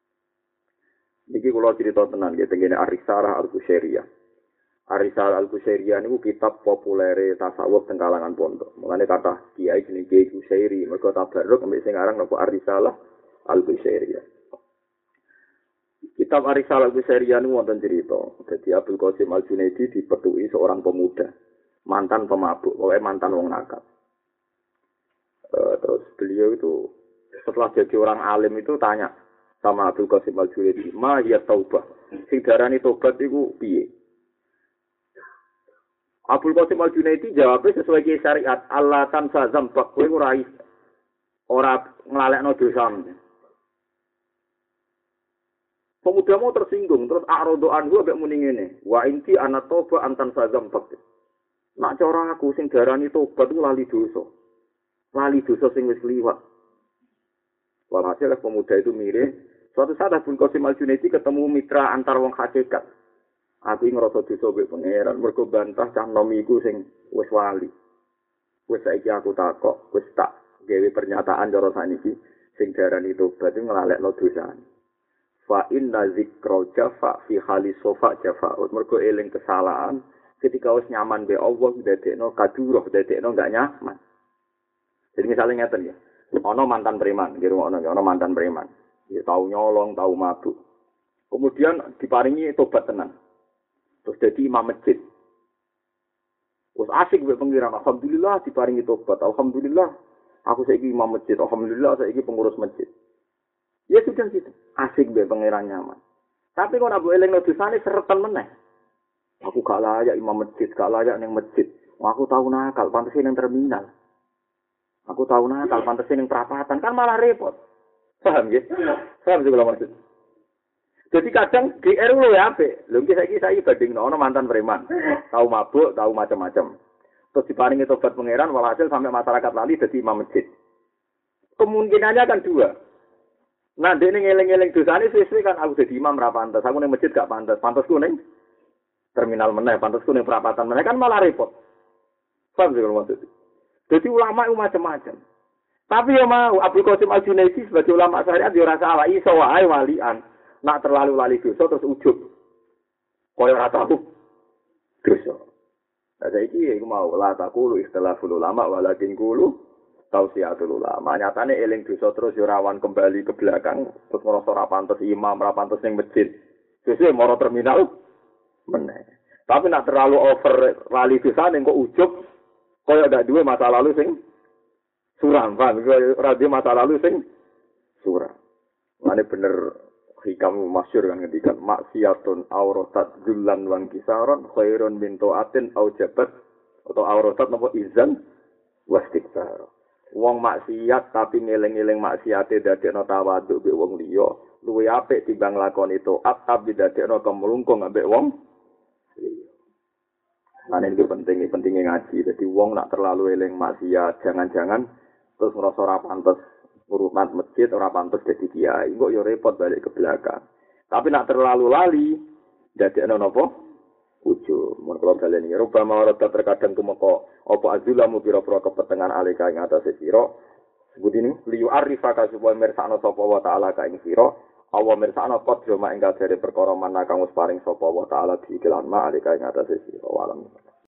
Niki kula cerita tenan nggih tengene Ar-Risalah Al-Qusyairiyah. Ar-Risalah Al-Qusyairiyah niku kitab populere tasawuf teng kalangan pondok. Mulane kata kiai jenenge Kiai Qusyairi, mergo tabarruk ambek sing aran napa Ar-Risalah Al-Qusyairiyah. Kitab Ar-Risalah Al-Qusyairiyah niku wonten cerita. Dadi Abdul Qasim Al-Junaidi dipethuki seorang pemuda, mantan pemabuk, pokoknya mantan wong nakal. Uh, terus beliau itu setelah jadi orang alim itu tanya sama Abdul Qasim Al-Junaidi, "Ma ya taubah?" Sing darani tobat iku piye? Abdul Qasim Al-Junaidi jawabnya sesuai ki syariat, "Allah tansa zambak, kowe ora ora nglalekno dosamu." Pemuda mau tersinggung, terus a'radu anhu ambek muni ngene, "Wa inti ana toba antan zambak." Nak cara aku sing darani tobat iku lali dosa. Lali dosa sing wis liwat. Walhasil pemuda itu mirip. Suatu saat Abdul Qasim Al-Junaidi ketemu mitra antar wong hakikat. Aku ngerasa dosa mbek pangeran, mergo bantah cah nom iku sing wis wali. Wis saiki aku takok, wis tak gawe pernyataan cara saniki sing darani tobat iku nglalekno dosane. Fa inna dzikra jafa fi hali sofa jafaut. Mergo eling kesalahan ketika wis nyaman be Allah dadekno kadurah, dadekno enggak nyaman. Jadi misalnya ngeten ya, ono mantan preman, di rumah ono, ono mantan preman, dia tahu nyolong, tahu mabuk, kemudian diparingi tobat tenan, terus jadi imam masjid, terus asik buat pengiran, alhamdulillah diparingi tobat, alhamdulillah, aku saiki imam masjid, alhamdulillah saiki pengurus masjid, ya sudah gitu, asik buat pengiran nyaman, tapi kalau abu eleng dosane seretan meneh, aku gak layak imam masjid, gak layak neng masjid, aku tahu nakal, pantasnya neng terminal. Aku tahu nakal pantesin yang perapatan kan malah repot. Paham ya? Paham juga maksud. Jadi kadang G R lu ya apik. Lho iki saiki saiki bandingno ono mantan preman. Tahu mabuk, tahu macam-macam. Terus diparingi tobat pangeran walhasil sampai masyarakat lali dadi imam masjid. Kemungkinannya kan dua. Nah, dene ngeling-eling dosane suwe-suwe kan aku dadi imam ra pantes. Aku ning masjid gak pantes. Pantesku ning terminal meneh, pantesku ning perapatan meneh kan malah repot. Paham sih kalau maksud. Jadi ulama itu macam-macam. Tapi ya mau Abdul Qasim Al-Junaidi sebagai ulama syariat dia rasa salah iso wae walian. Nak terlalu lali dosa terus ujub. Kaya ora tahu dosa. Nah saiki iku mau la taqulu ikhtilaful ulama walakin qulu tausiatul ulama. Nyatane eling dosa terus yo rawan kembali ke belakang terus ngrasa ora pantes imam, ora pantes ning masjid. Sesuk moro terminal meneh. Tapi nak terlalu over lali dosa ning kok ujub kaya ndak duwe masa lalu sing suram, kan? Ora duwe masa lalu sing suram. Mane bener hikam masyhur kan ketika maksiatun auratat zullan wan kisaron khairun min taatin au jabat atau auratat napa izan wastikbar. Wong maksiat tapi ngeling-eling maksiate dadekno tawadhu mbek wong liya luwih apik timbang lakoni taat tapi dadekno kemlungkung ambek wong liya. Nah ini penting, pentingnya ngaji. Jadi wong nak terlalu eling maksiat, jangan-jangan terus ngerasa ora pantes urutan masjid, ora pantes dadi kiai. Kok yo repot balik ke belakang. Tapi nak terlalu lali, jadi ana napa? Ujub. Mun kula daleni rupa mawarata terkadang tumeka apa azulamu pira-pira kepetengan alika ing atase sira. Sebut ini liyu arifaka supaya mirsakno sapa wa taala ka ing sira. Awa mirsakno qadra ing kadare perkara manah kang wis paring sapa wa taala di iklan ma alika ing atase sira. Walam.